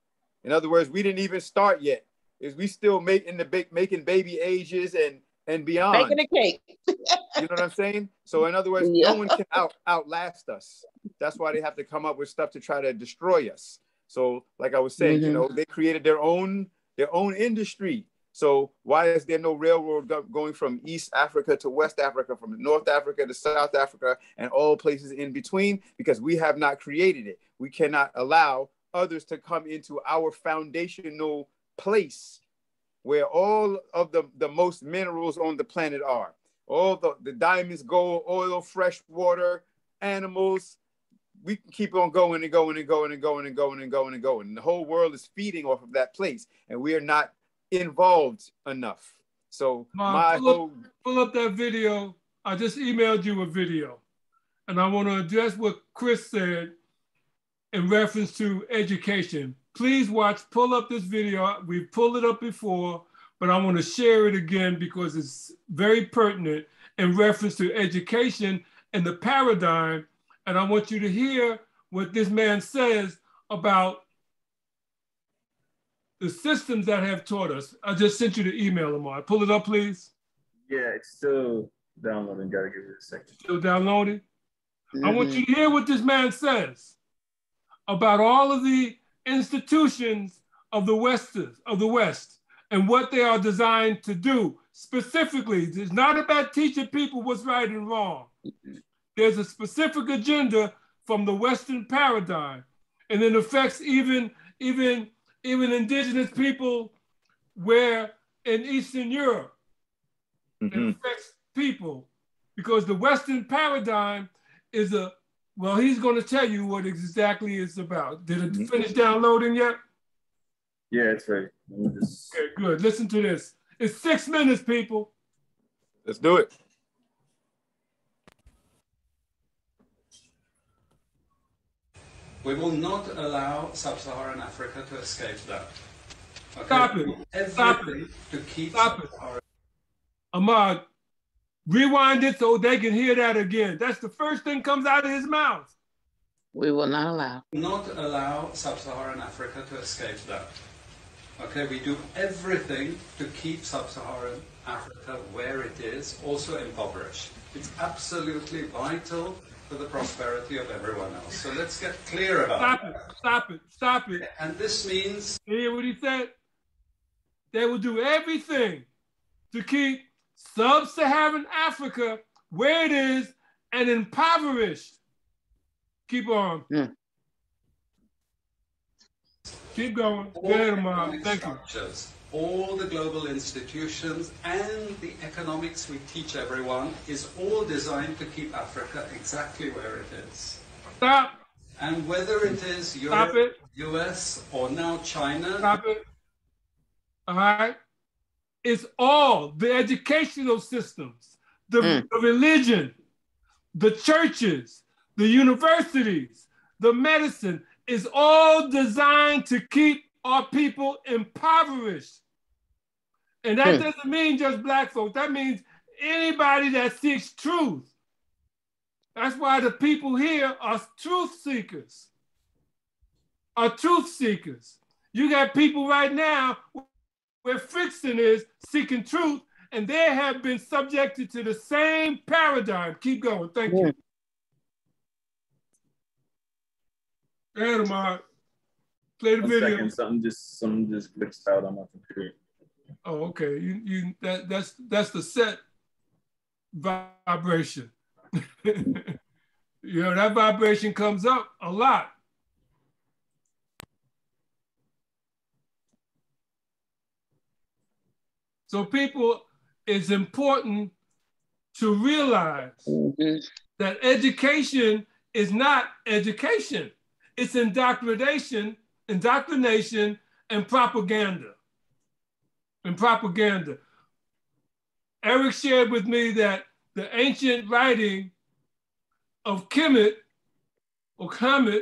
In other words, we didn't even start yet. We still making baby ages and beyond. Making a cake. You know what I'm saying? So in other words, no one can outlast us. That's why they have to come up with stuff to try to destroy us. So like I was saying, you know, they created their own industry. So why is there no railroad going from East Africa to West Africa, from North Africa to South Africa, and all places in between? Because we have not created it. We cannot allow others to come into our foundational place where all of the most minerals on the planet are. All the diamonds, gold, oil, fresh water, animals. We can keep on going and going and going and going and going and going and going. And the whole world is feeding off of that place, and we are not involved enough. So pull up that video. I just emailed you a video, and I want to address what Chris said in reference to education. Please pull up this video. We've pulled it up before, but I want to share it again because it's very pertinent in reference to education and the paradigm. And I want you to hear what this man says about the systems that have taught us. I just sent you the email, Lamar. Pull it up, please. Yeah, it's still downloading. Gotta give it a second. Still downloading? I want you to hear what this man says about all of the institutions of the West and what they are designed to do. Specifically, it's not about teaching people what's right and wrong. There's a specific agenda from the Western paradigm, and it affects even indigenous people where in Eastern Europe. It affects people because the Western paradigm is he's going to tell you what exactly it's about. Did it finish downloading yet? Yeah, it's ready. Okay, good. Listen to this. It's 6 minutes, people. Let's do it. We will not allow sub-Saharan Africa to escape that. Okay? Stop it. Stop it. To keep Stop it. Ahmad, rewind it so they can hear that again. That's the first thing comes out of his mouth. We will not allow. Not allow sub-Saharan Africa to escape that. Okay, we do everything to keep sub-Saharan Africa where it is, also impoverished. It's absolutely vital for the prosperity of everyone else. So let's get clear about that. Stop it. And this means... You hear what he said? They will do everything to keep sub-Saharan Africa where it is and impoverished. Keep on. Keep going. Go ahead, Amar. Thank you. All the global institutions and the economics we teach everyone is all designed to keep Africa exactly where it is. Stop. And whether it is Europe, US, or now China. Stop it. All right. It's all the educational systems, the religion, the churches, the universities, the medicine is all designed to keep our people impoverished. And that doesn't mean just black folks. That means anybody that seeks truth. That's why the people here are truth seekers. You got people right now where friction is seeking truth, and they have been subjected to the same paradigm. Keep going. Thank you. Amar, play the video. Something just glitched out on my computer. Oh, okay. That's the set vibration. You know, that vibration comes up a lot. So people, it's important to realize that education is not education. It's indoctrination and propaganda. Eric shared with me that the ancient writing of Kemet or Kemet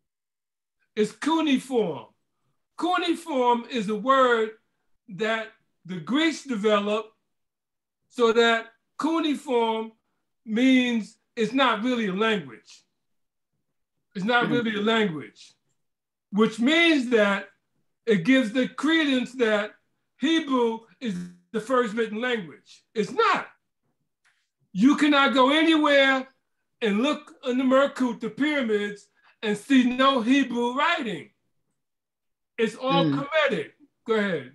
is cuneiform. Cuneiform is a word that the Greeks developed, so that cuneiform means it's not really a language. It's not really a language, which means that it gives the credence that Hebrew is the first written language. It's not. You cannot go anywhere and look in the Merkut, the pyramids, and see no Hebrew writing. It's all Kemetic. Go ahead.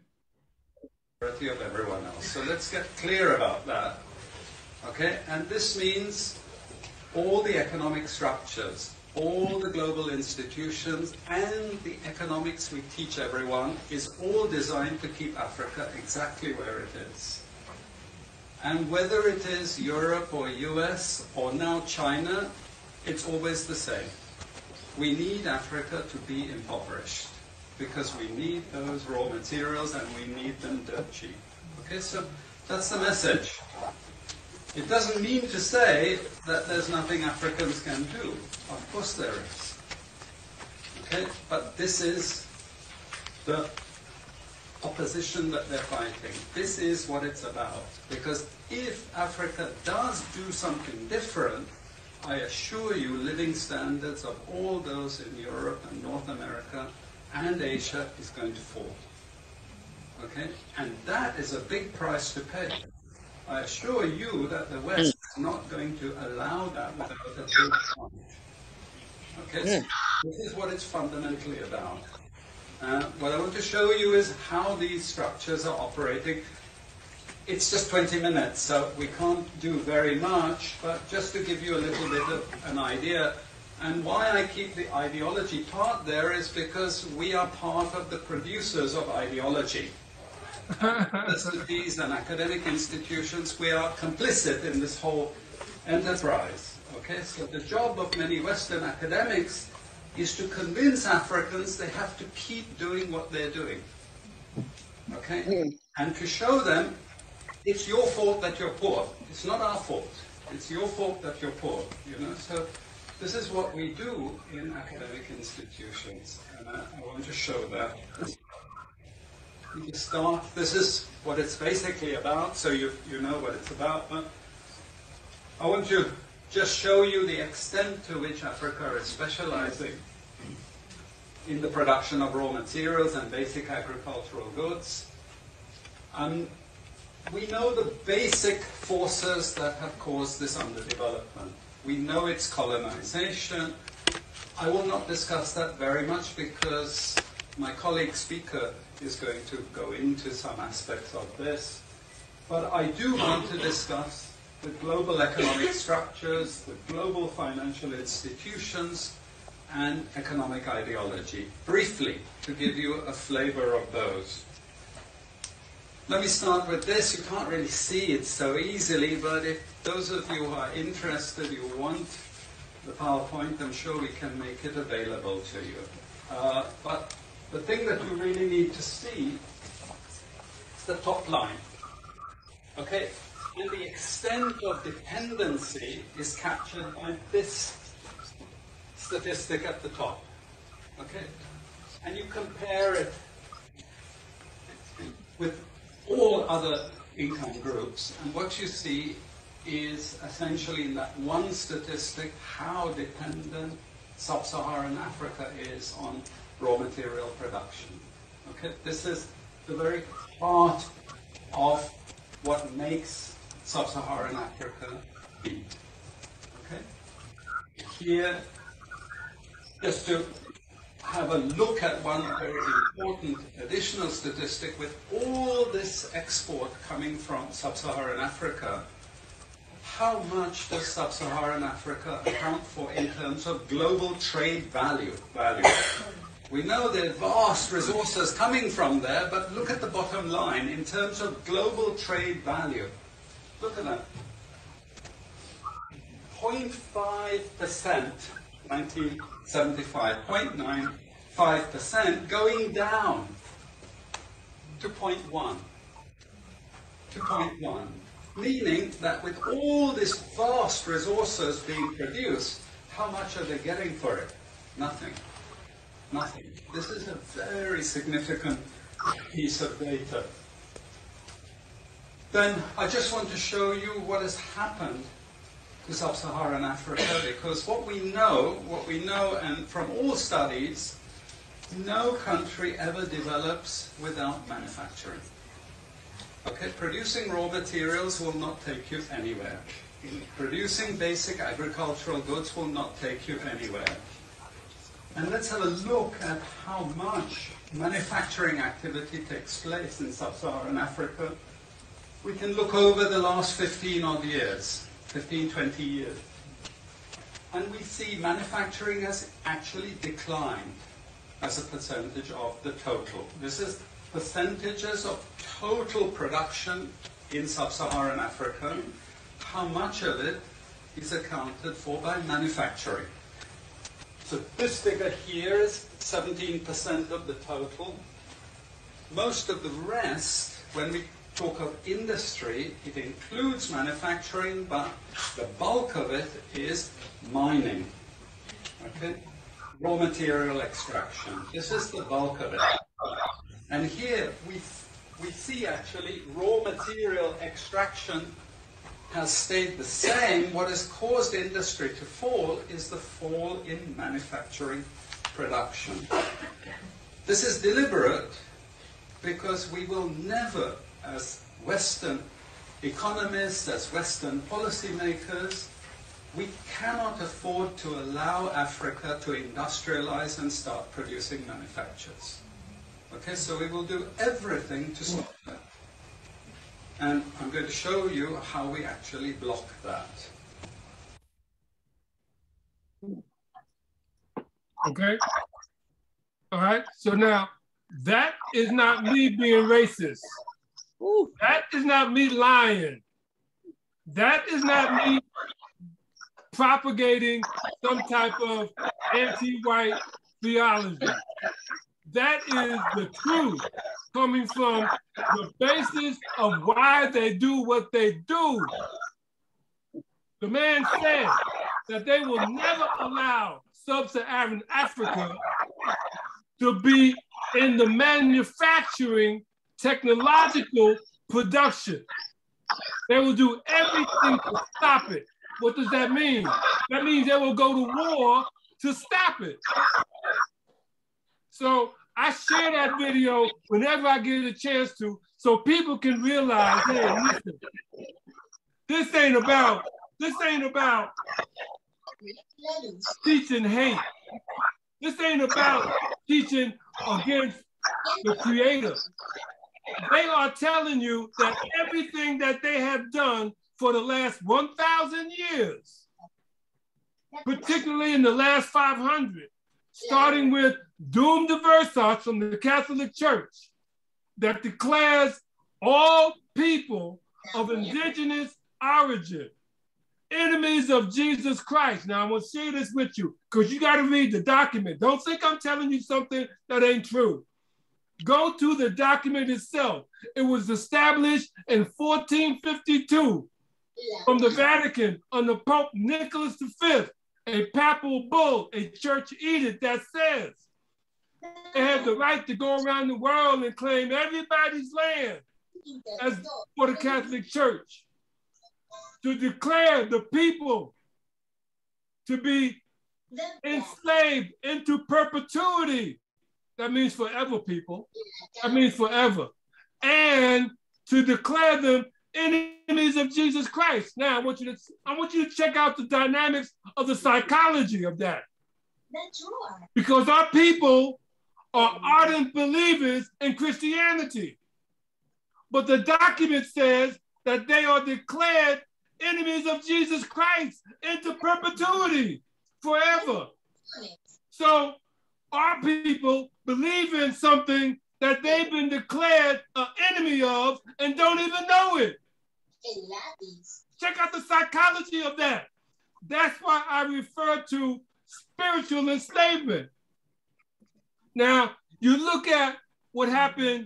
Of everyone else. So let's get clear about that. Okay, and this means all the economic structures, all the global institutions, and the economics we teach everyone is all designed to keep Africa exactly where it is. And whether it is Europe or US or now China, it's always the same. We need Africa to be impoverished because we need those raw materials and we need them dirt cheap. Okay, so that's the message. It doesn't mean to say that there's nothing Africans can do. Of course there is. Okay, but this is the opposition that they're fighting. This is what it's about. Because if Africa does do something different, I assure you living standards of all those in Europe and North America and Asia is going to fall. Okay? And that is a big price to pay. I assure you that the West is not going to allow that without a big challenge. Okay, so this is what it's fundamentally about. What I want to show you is how these structures are operating. It's just 20 minutes, so we can't do very much, but just to give you a little bit of an idea. And why I keep the ideology part there is because we are part of the producers of ideology. Universities and academic institutions, we are complicit in this whole enterprise. Okay, so the job of many Western academics is to convince Africans they have to keep doing what they're doing. Okay, and to show them it's your fault that you're poor. It's not our fault. It's your fault that you're poor. You know, so this is what we do in academic institutions, and I want to show that. We can start. This is what it's basically about, so you know what it's about. But I want to just show you the extent to which Africa is specializing in the production of raw materials and basic agricultural goods. We know the basic forces that have caused this underdevelopment. We know it's colonization. I will not discuss that very much because my colleague speaker is going to go into some aspects of this. But I do want to discuss the global economic structures, the global financial institutions, and economic ideology. Briefly, to give you a flavor of those. Let me start with this. You can't really see it so easily, but if those of you who are interested, you want the PowerPoint, I'm sure we can make it available to you. But the thing that you really need to see is the top line. Okay? And the extent of dependency is captured by this statistic at the top. Okay? And you compare it with all other income groups, and what you see is essentially in that one statistic how dependent sub-Saharan Africa is on raw material production. Okay? This is the very heart of what makes sub-Saharan Africa be. Okay? Here, just to have a look at one very important additional statistic, with all this export coming from sub-Saharan Africa, how much does sub-Saharan Africa account for in terms of global trade value? We know there are vast resources coming from there, but look at the bottom line in terms of global trade value. Look at that. 0.5%, 1975, 0.95%, going down to 0.1. To 0.1. Meaning that with all these vast resources being produced, how much are they getting for it? Nothing. Nothing. This is a very significant piece of data. Then I just want to show you what has happened to sub-Saharan Africa, because what we know, and from all studies, no country ever develops without manufacturing. Okay, producing raw materials will not take you anywhere. Producing basic agricultural goods will not take you anywhere. And let's have a look at how much manufacturing activity takes place in sub-Saharan Africa. We can look over the last 15 odd years, 15, 20 years. And we see manufacturing has actually declined as a percentage of the total. This is percentages of total production in sub-Saharan Africa. How much of it is accounted for by manufacturing? So this figure here is 17% of the total. Most of the rest, when we talk of industry, it includes manufacturing, but the bulk of it is mining. Okay? Raw material extraction. This is the bulk of it. And here we see actually raw material extraction has stayed the same. What has caused industry to fall is the fall in manufacturing production. This is deliberate because we will never, as Western economists, as Western policymakers, we cannot afford to allow Africa to industrialize and start producing manufactures. Okay, so we will do everything to stop that. And I'm going to show you how we actually block that. Okay. All right. So now, that is not me being racist. That is not me lying. That is not me propagating some type of anti-white theology. That is the truth coming from the basis of why they do what they do. The man said that they will never allow sub-Saharan Africa to be in the manufacturing technological production. They will do everything to stop it. What does that mean? That means they will go to war to stop it. So I share that video whenever I get a chance to, so people can realize, hey, listen, this ain't about teaching hate. This ain't about teaching against the Creator. They are telling you that everything that they have done for the last 1,000 years, particularly in the last 500, starting with Dum Diversas from the Catholic Church that declares all people of indigenous origin enemies of Jesus Christ. Now, I'm going to share this with you because you got to read the document. Don't think I'm telling you something that ain't true. Go to the document itself. It was established in 1452 from the Vatican under Pope Nicholas V, a papal bull, a church edict that says they have the right to go around the world and claim everybody's land as for the Catholic Church, to declare the people to be enslaved into perpetuity. That means forever, people. That means forever. And to declare them enemies of Jesus Christ. Now, I want you to check out the dynamics of the psychology of that. Because our people are ardent believers in Christianity. But the document says that they are declared enemies of Jesus Christ into perpetuity, forever. So our people believe in something that they've been declared an enemy of and don't even know it. Check out the psychology of that. That's why I refer to spiritual enslavement. Now, you look at what happened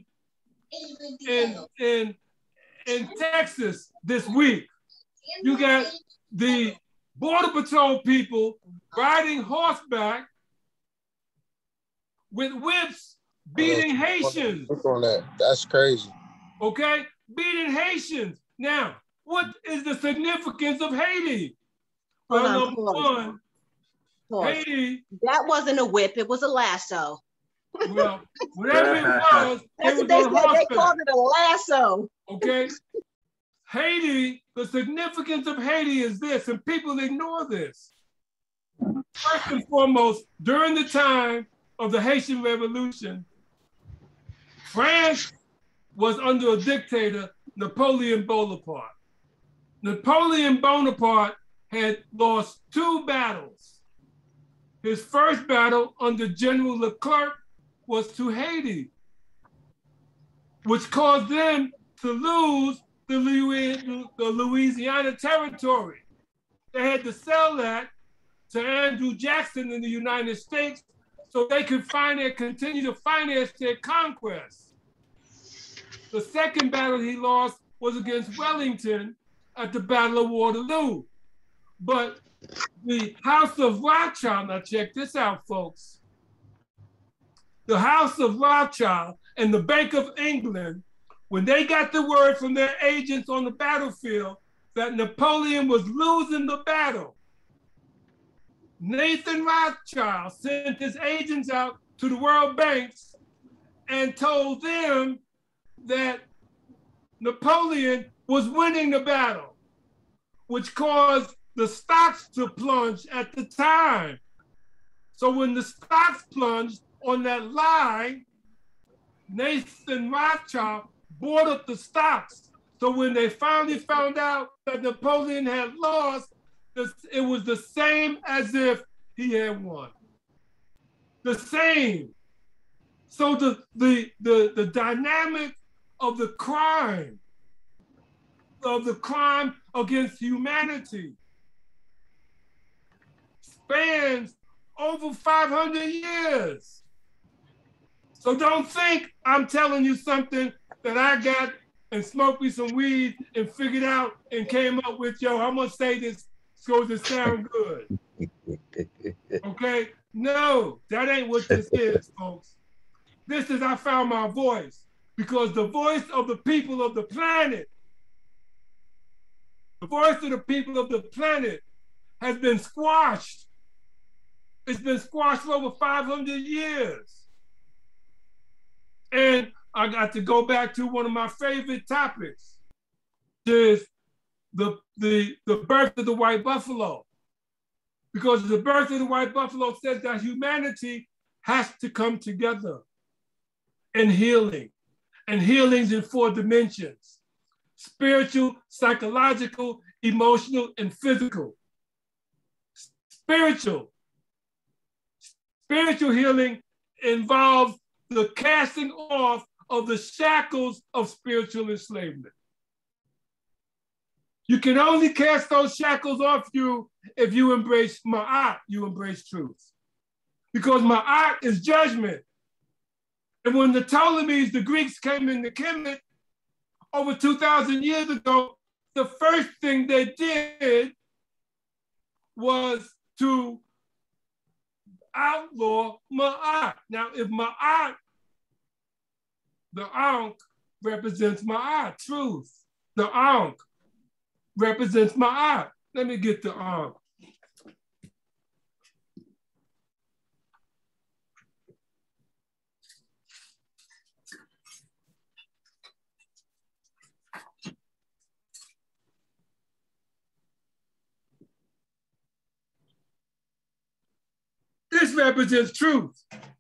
in Texas this week. You got the Border Patrol people riding horseback with whips, beating Haitians. Look on that. That's crazy. Okay? Beating Haitians. Now, what is the significance of Haiti? Well, number one, Haiti. That wasn't a whip, it was a lasso. Well, whatever it was, that's what they said. They called it a lasso. Okay? Haiti, the significance of Haiti is this, and people ignore this. First and foremost, during the time of the Haitian Revolution, France was under a dictator, Napoleon Bonaparte. Napoleon Bonaparte had lost 2 battles. His first battle under General Leclerc was to Haiti, which caused them to lose the Louisiana Territory. They had to sell that to Andrew Jackson in the United States so they could continue to finance their conquest. The second battle he lost was against Wellington at the Battle of Waterloo. But the House of Rothschild, now check this out, folks. The House of Rothschild and the Bank of England, when they got the word from their agents on the battlefield that Napoleon was losing the battle, Nathan Rothschild sent his agents out to the world banks and told them that Napoleon was winning the battle, which caused the stocks to plunge at the time. So when the stocks plunged on that lie, Nathan Rothschild bought up the stocks. So when they finally found out that Napoleon had lost, it was the same as if he had won. The same. So the dynamic of the crime against humanity spans over 500 years. So don't think I'm telling you something that I got and smoked me some weed and figured out and came up with, yo, I'm gonna say this so it sound good. Okay? No, that ain't what this is, folks. This is I found my voice, because the voice of the people of the planet, the voice of the people of the planet has been squashed. It's been squashed for over 500 years. And I got to go back to one of my favorite topics, which is the birth of the white buffalo. Because the birth of the white buffalo says that humanity has to come together in healing, and healing's in 4 dimensions. spiritual, psychological, emotional, and physical. Spiritual healing involves the casting off of the shackles of spiritual enslavement. You can only cast those shackles off you if you embrace Ma'at, you embrace truth. Because Ma'at is judgment. And when the Ptolemies, the Greeks, came into Kemet over 2,000 years ago, the first thing they did was to outlaw Ma'at. Now, if Ma'at, the Ankh represents Ma'at, truth. The Ankh represents Ma'at. Let me get the Ankh. This represents truth.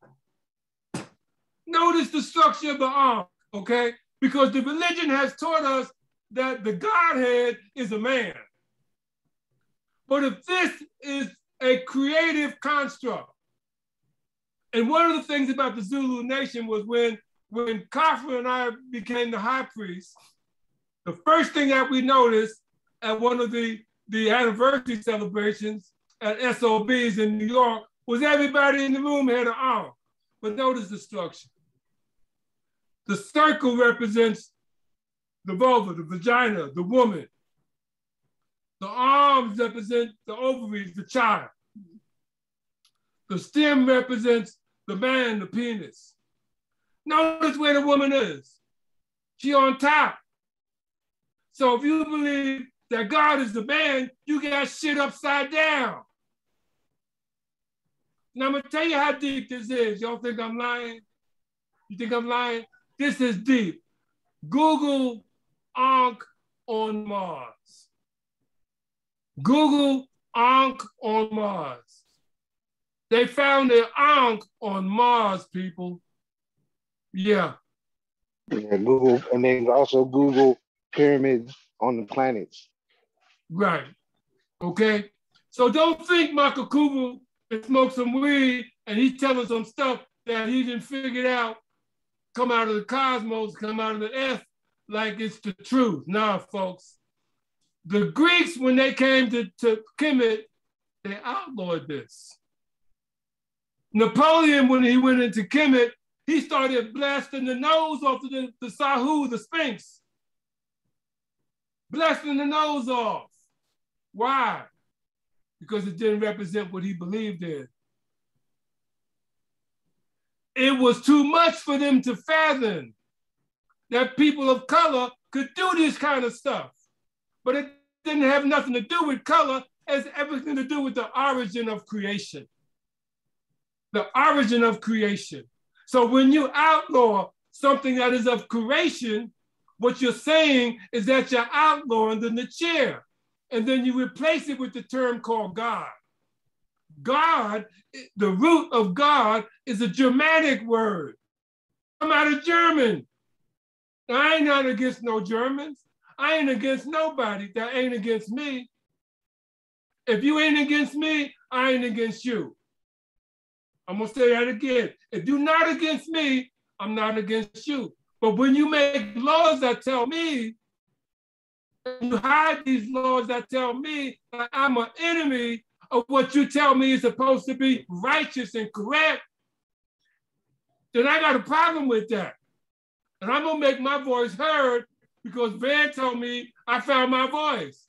Notice the structure of the Ankh, okay? Because the religion has taught us that the Godhead is a man. But if this is a creative construct, and one of the things about the Zulu nation was when Khafre and I became the high priest, the first thing that we noticed at one of the anniversary celebrations at SOBs in New York was everybody in the room had an arm. But notice the structure. The circle represents the vulva, the vagina, the woman. The arms represent the ovaries, the child. The stem represents the man, the penis. Notice where the woman is. She on top. So if you believe that God is the man, you got shit upside down. Now I'm gonna tell you how deep this is. Y'all think I'm lying? You think I'm lying? This is deep. Google Ankh on Mars. Google Ankh on Mars. They found an Ankh on Mars, people. Yeah. Yeah, Google, and then also Google pyramids on the planets. Right. Okay. So don't think Makakubu and smoke some weed and he's telling some stuff that he didn't figure out, come out of the cosmos, come out of the earth, like it's the truth. Nah, folks. The Greeks, when they came to Kemet, they outlawed this. Napoleon, when he went into Kemet, he started blasting the nose off of the Sahu, the Sphinx. Blasting the nose off. Why? Because it didn't represent what he believed in. It was too much for them to fathom that people of color could do this kind of stuff. But it didn't have nothing to do with color. It has everything to do with the origin of creation. The origin of creation. So when you outlaw something that is of creation, what you're saying is that you're outlawing the Nechir. And then you replace it with the term called God. God, the root of God is a Germanic word. I'm out of German. Now, I ain't not against no Germans. I ain't against nobody that ain't against me. If you ain't against me, I ain't against you. I'm gonna say that again. If you're not against me, I'm not against you. But when you make laws that tell me, you hide these laws that tell me that I'm an enemy of what you tell me is supposed to be righteous and correct, then I got a problem with that. And I'm gonna make my voice heard because Van told me I found my voice.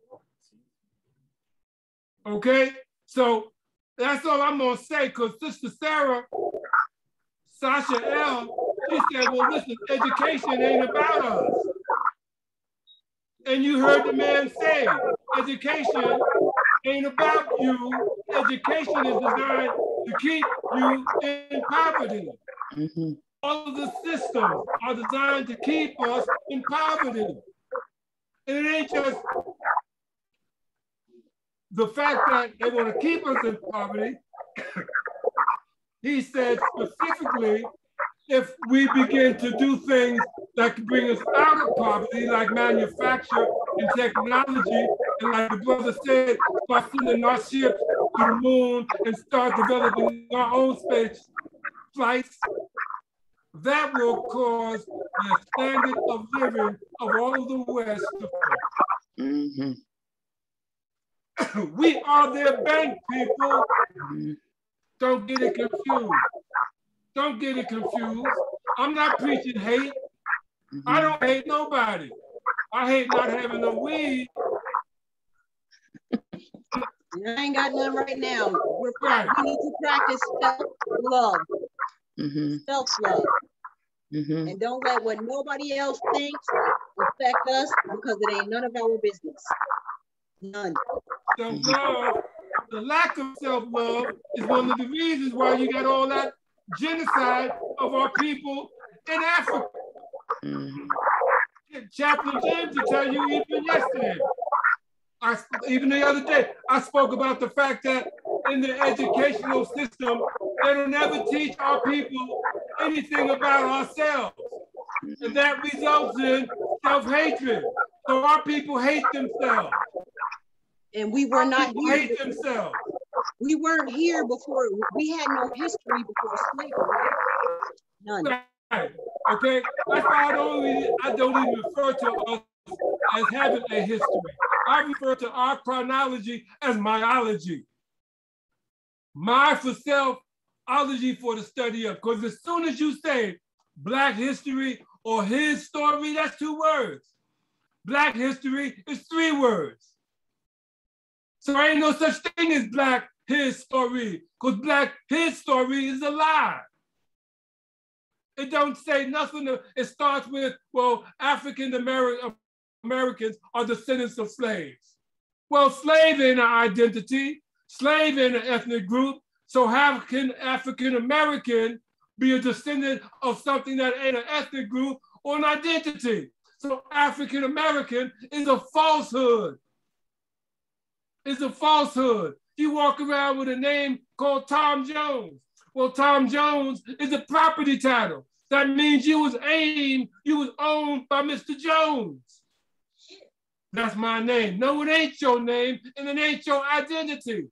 Okay? So that's all I'm gonna say, because Sister Sarah, Sasha L, she said, well, listen, education ain't about us. And you heard the man say, education ain't about you. Education is designed to keep you in poverty. Mm-hmm. All of the systems are designed to keep us in poverty. And it ain't just the fact that they want to keep us in poverty. He said specifically, if we begin to do things that can bring us out of poverty, like manufacture and technology. And like the brother said, start sending our ships to the moon and start developing our own space flights. That will cause the standard of living of all of the West to fall. We are their bank, people. Don't get it confused. Don't get it confused. I'm not preaching hate. I don't hate nobody. I hate not having no weed. I ain't got none right now. We need to practice self-love. Self-love. And don't let what nobody else thinks affect us, because it ain't none of our business. None. Self-love, the lack of self-love is one of the reasons why you got all that genocide of our people in Africa. Chaplain James will tell you even yesterday. Even the other day, I spoke about the fact that in the educational system, they don't ever teach our people anything about ourselves. And that results in self-hatred. So our people hate themselves. And we were not here. Hate themselves. We weren't here before. We had no history before slavery. None. Right. Okay. That's why I don't even refer to us as having a history. I refer to our chronology as myology. My for self, ology for the study of. Because as soon as you say Black history or his story, that's 2 words. Black history is 3 words. So there ain't no such thing as Black his story, because Black his story is a lie. It don't say nothing. It starts with, well, African Americans are descendants of slaves. Well, slave ain't an identity. Slave ain't an ethnic group. So how can African American be a descendant of something that ain't an ethnic group or an identity? So African American is a falsehood. It's a falsehood. You walk around with a name called Tom Jones. Well, Tom Jones is a property title. That means you was owned by Mr. Jones. That's my name. No, it ain't your name, and it ain't your identity.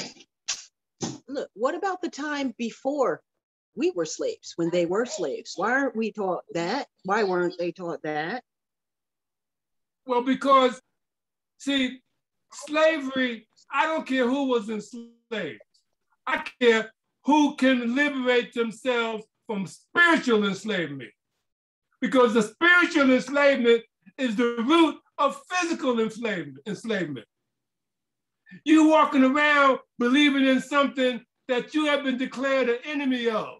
Look, what about the time before we were slaves, when they were slaves? Why aren't we taught that? Why weren't they taught that? Well, because, see, slavery, I don't care who was enslaved. I care who can liberate themselves from spiritual enslavement. Because the spiritual enslavement is the root of physical enslavement. You walking around believing in something that you have been declared an enemy of.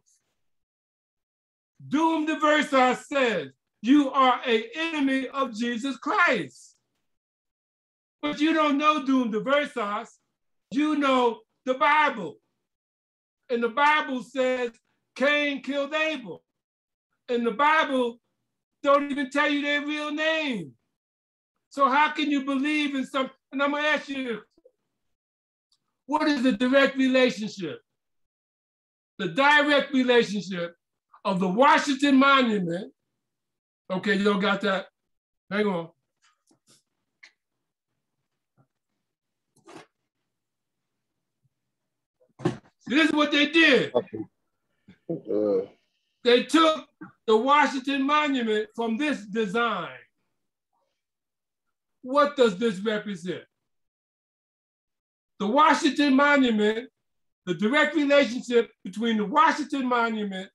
Doom de Versa says, you are an enemy of Jesus Christ. But you don't know Doom de Versa, you know the Bible. And the Bible says Cain killed Abel. And the Bible don't even tell you their real name. So how can you believe in something? And I'm gonna ask you, what is the direct relationship? The direct relationship of the Washington Monument. Okay, you don't got that? Hang on. This is what they did. They took the Washington Monument from this design. What does this represent? The Washington Monument, the direct relationship between the Washington Monument,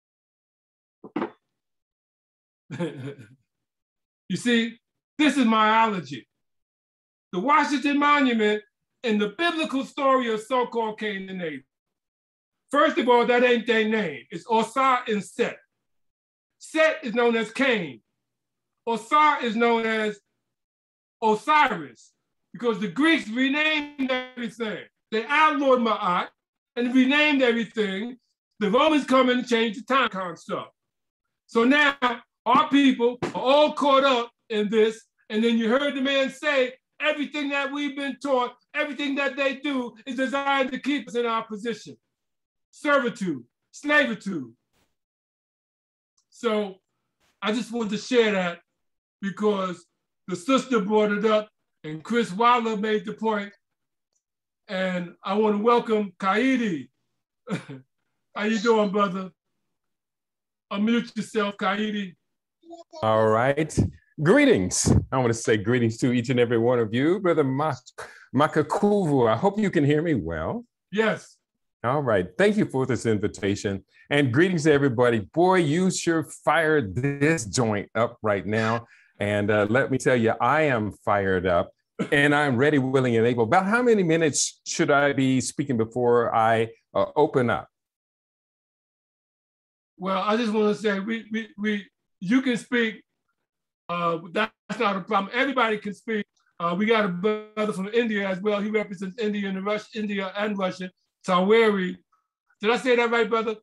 you see, this is myology. The Washington Monument and the biblical story of so-called Cain and Abel. First of all, that ain't their name. It's Osar and Set. Set is known as Cain. Osar is known as Osiris, because the Greeks renamed everything. They outlawed Ma'at and renamed everything. The Romans come in and change the time construct. So now our people are all caught up in this. And then you heard the man say, everything that we've been taught, everything that they do is designed to keep us in our position. Servitude, slavitude. So I just wanted to share that because the sister brought it up and Chris Waller made the point. And I want to welcome Kaidi. How you doing, brother? Unmute yourself, Kaidi. All right. Greetings. I want to say greetings to each and every one of you. Brother Makakuvu, I hope you can hear me well. Yes. All right. Thank you for this invitation. And greetings to everybody. Boy, you sure fired this joint up right now. And let me tell you, I am fired up and I'm ready, willing, and able. About how many minutes should I be speaking before I open up? Well, I just want to say you can speak. That's not a problem. Everybody can speak. We got a brother from India as well. He represents India and Russia. Taweri. Did I say that right, brother?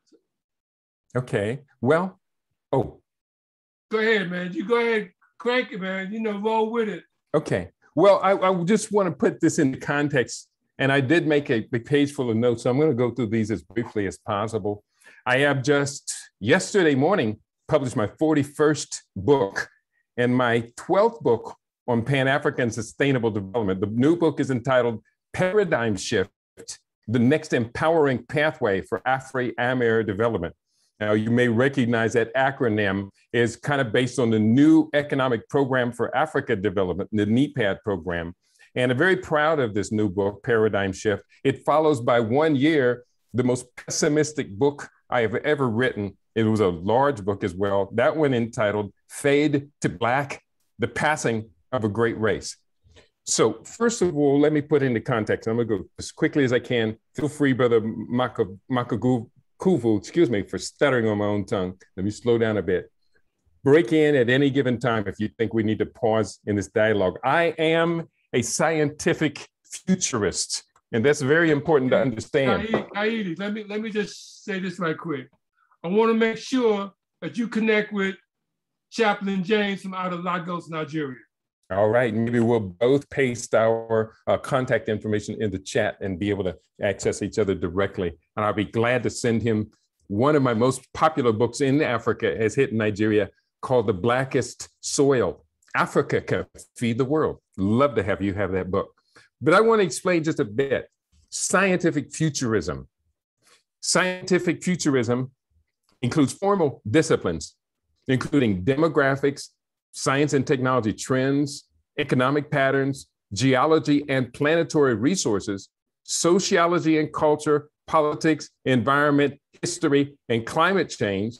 Okay. Well, oh. Go ahead, man. You go ahead, crank it, man. Roll with it. Okay. Well, I just want to put this into context, and I did make a page full of notes, so I'm going to go through these as briefly as possible. I have just yesterday morning published my 41st book and my 12th book on Pan-African Sustainable Development. The new book is entitled Paradigm Shift, the Next Empowering Pathway for Afro-Amer Development. Now, you may recognize that acronym is kind of based on the New Economic Program for Africa Development, the NEPAD program. And I'm very proud of this new book, Paradigm Shift. It follows by 1 year the most pessimistic book I have ever written. It was a large book as well. That one entitled Fade to Black, The Passing of a Great Race. So first of all, let me put into context. I'm gonna go as quickly as I can. Feel free, Brother Makakuvu, excuse me, for stuttering on my own tongue. Let me slow down a bit. Break in at any given time if you think we need to pause in this dialogue. I am a scientific futurist, and that's very important to understand. Kaidi, let me just say this right quick. I want to make sure that you connect with Chaplain James from out of Lagos, Nigeria. All right, maybe we'll both paste our contact information in the chat and be able to access each other directly. And I'll be glad to send him one of my most popular books in Africa has hit Nigeria called The Blackest Soil. Africa Can Feed the World. Love to have you have that book. But I want to explain just a bit. Scientific futurism. Scientific futurism includes formal disciplines, including demographics, science and technology trends, economic patterns, geology and planetary resources, sociology and culture, politics, environment, history, and climate change,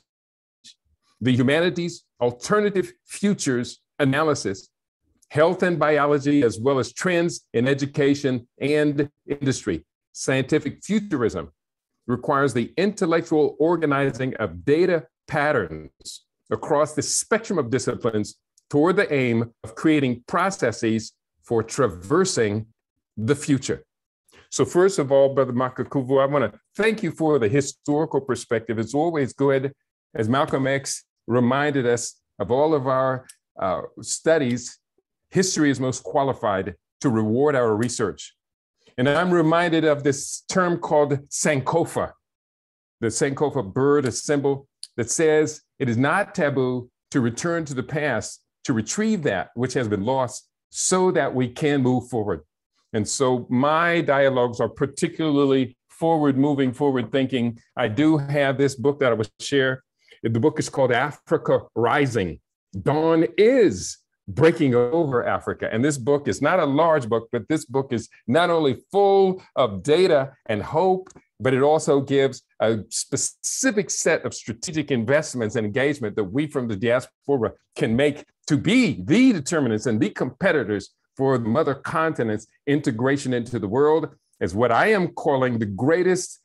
the humanities, alternative futures analysis, health and biology, as well as trends in education and industry. Scientific futurism requires the intellectual organizing of data patterns across the spectrum of disciplines toward the aim of creating processes for traversing the future. So first of all, Brother Makakuvu, I want to thank you for the historical perspective. It's always good, as Malcolm X reminded us of all of our studies, history is most qualified to reward our research. And I'm reminded of this term called Sankofa, the Sankofa bird, a symbol that says it is not taboo to return to the past, to retrieve that which has been lost so that we can move forward. And so my dialogues are particularly forward-moving, forward-thinking. I do have this book that I will share. The book is called Africa Rising. Dawn is breaking over Africa. And this book is not a large book, but this book is not only full of data and hope, but it also gives a specific set of strategic investments and engagement that we from the diaspora can make to be the determinants and the competitors for the mother continent's integration into the world as what I am calling the greatest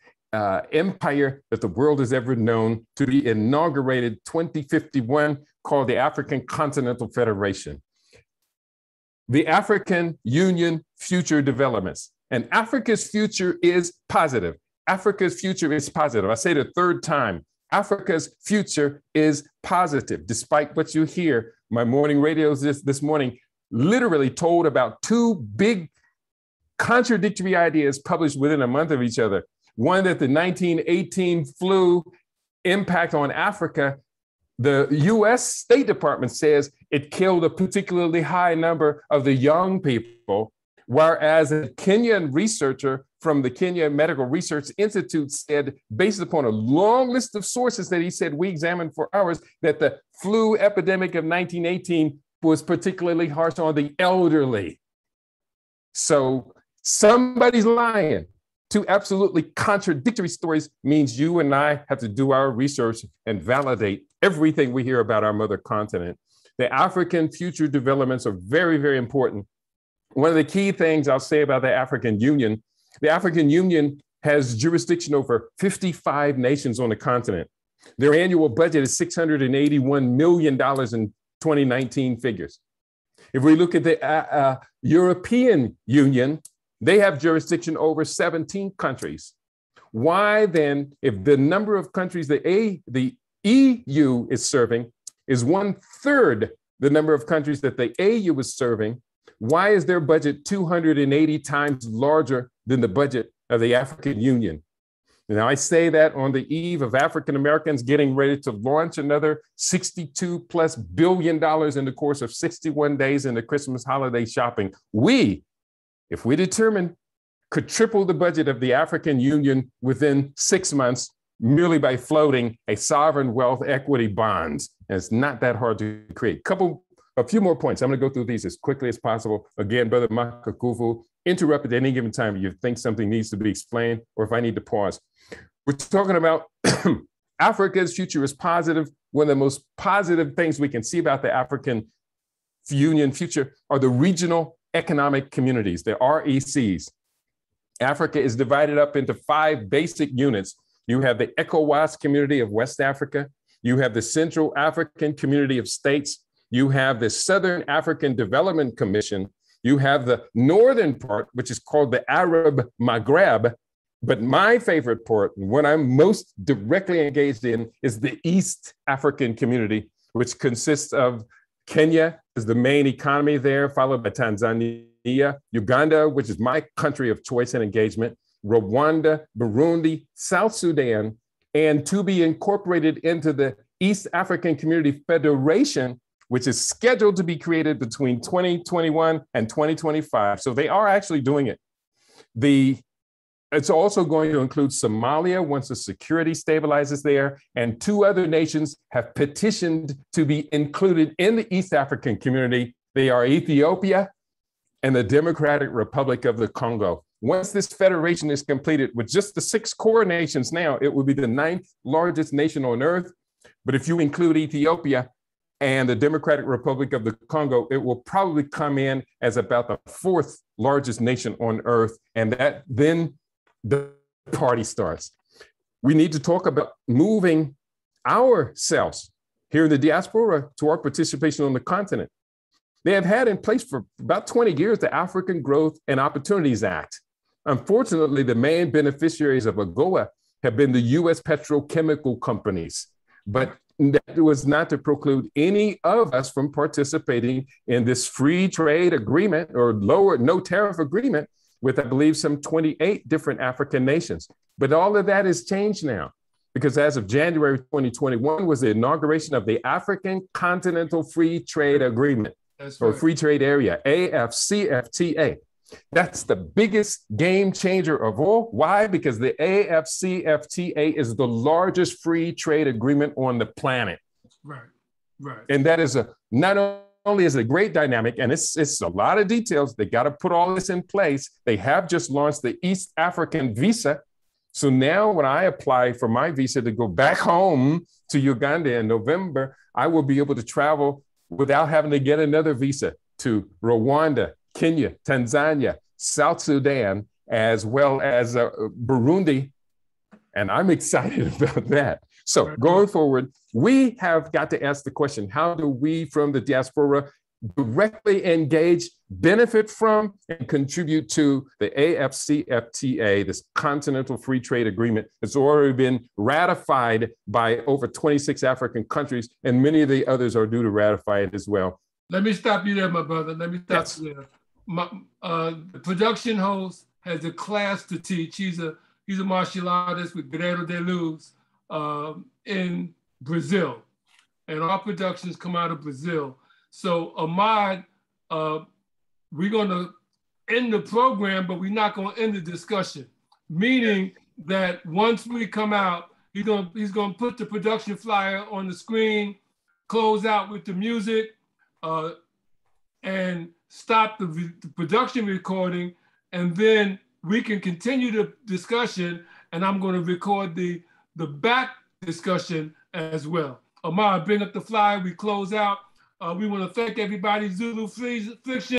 empire that the world has ever known, to be inaugurated 2051, called the African Continental Federation. The African Union Future Developments. And Africa's future is positive. Africa's future is positive. I say the third time, Africa's future is positive. Despite what you hear, my morning radios this morning literally told about two big contradictory ideas published within a month of each other. 1, that the 1918 flu impact on Africa The US State Department says it killed a particularly high number of the young people, whereas a Kenyan researcher from the Kenya Medical Research Institute said, based upon a long list of sources that he said we examined for hours, that the flu epidemic of 1918 was particularly harsh on the elderly. So somebody's lying. Two absolutely contradictory stories means you and I have to do our research and validate everything we hear about our mother continent. The African future developments are very, very important. One of the key things I'll say about the African Union has jurisdiction over 55 nations on the continent. Their annual budget is $681 million in 2019 figures. If we look at the European Union, they have jurisdiction over 17 countries. Why then, if the number of countries the EU is serving is 1/3 the number of countries that the AU is serving, why is their budget 280 times larger than the budget of the African Union? Now, I say that on the eve of African Americans getting ready to launch another $62+ billion in the course of 61 days in the Christmas holiday shopping. We, if we determine, could triple the budget of the African Union within 6 months merely by floating a sovereign wealth equity bonds. And it's not that hard to create. A few more points. I'm going to go through these as quickly as possible. Again, Brother Makakuvu, interrupt at any given time if you think something needs to be explained or if I need to pause. We're talking about Africa's future is positive. One of the most positive things we can see about the African Union future are the regional economic communities, the RECs. Africa is divided up into 5 basic units. You have the ECOWAS community of West Africa. You have the Central African Community of States. You have the Southern African Development Commission. You have the northern part, which is called the Arab Maghreb. But my favorite part, what I'm most directly engaged in, is the East African community, which consists of Kenya is the main economy there, followed by Tanzania, Uganda, which is my country of choice and engagement, Rwanda, Burundi, South Sudan, and to be incorporated into the East African Community Federation, which is scheduled to be created between 2021 and 2025. So they are actually doing it. It's also going to include Somalia once the security stabilizes there, and 2 other nations have petitioned to be included in the East African community. They are Ethiopia and the Democratic Republic of the Congo. Once this federation is completed with just the 6 core nations now, it will be the 9th largest nation on earth. But if you include Ethiopia and the Democratic Republic of the Congo, it will probably come in as about the 4th largest nation on earth. And that then the party starts. We need to talk about moving ourselves here in the diaspora to our participation on the continent. They have had in place for about 20 years the African Growth and Opportunities Act. Unfortunately, the main beneficiaries of AGOA have been the US petrochemical companies, but that was not to preclude any of us from participating in this free trade agreement or lower no tariff agreement with, I believe, some 28 different African nations. But all of that has changed now, because as of January 2021 was the inauguration of the African Continental Free Trade Agreement, or Free Trade Area, AFCFTA. That's the biggest game changer of all. Why? Because the AFCFTA is the largest free trade agreement on the planet. Right, right. And that is not only is it a great dynamic, and it's a lot of details. They got to put all this in place. They have just launched the East African visa. So now when I apply for my visa to go back home to Uganda in November, I will be able to travel without having to get another visa to Rwanda, Kenya, Tanzania, South Sudan, as well as Burundi. And I'm excited about that. So going forward, we have got to ask the question, how do we from the diaspora directly engage, benefit from, and contribute to the AFCFTA, this Continental Free Trade Agreement that's already been ratified by over 26 African countries, and many of the others are due to ratify it as well. Let me stop you there, my brother. Let me stop you there. The production host has a class to teach. He's a martial artist with Guerrero de Luz in Brazil. and our productions come out of Brazil. So Ahmad, we're gonna end the program, but we're not gonna end the discussion. Meaning that once we come out, he's gonna put the production flyer on the screen, close out with the music, and stop the production recording, and then we can continue the discussion, and I'm going to record the back discussion as well. Ahmad, bring up the flyer, we close out. We want to thank everybody, Zulu Fiction.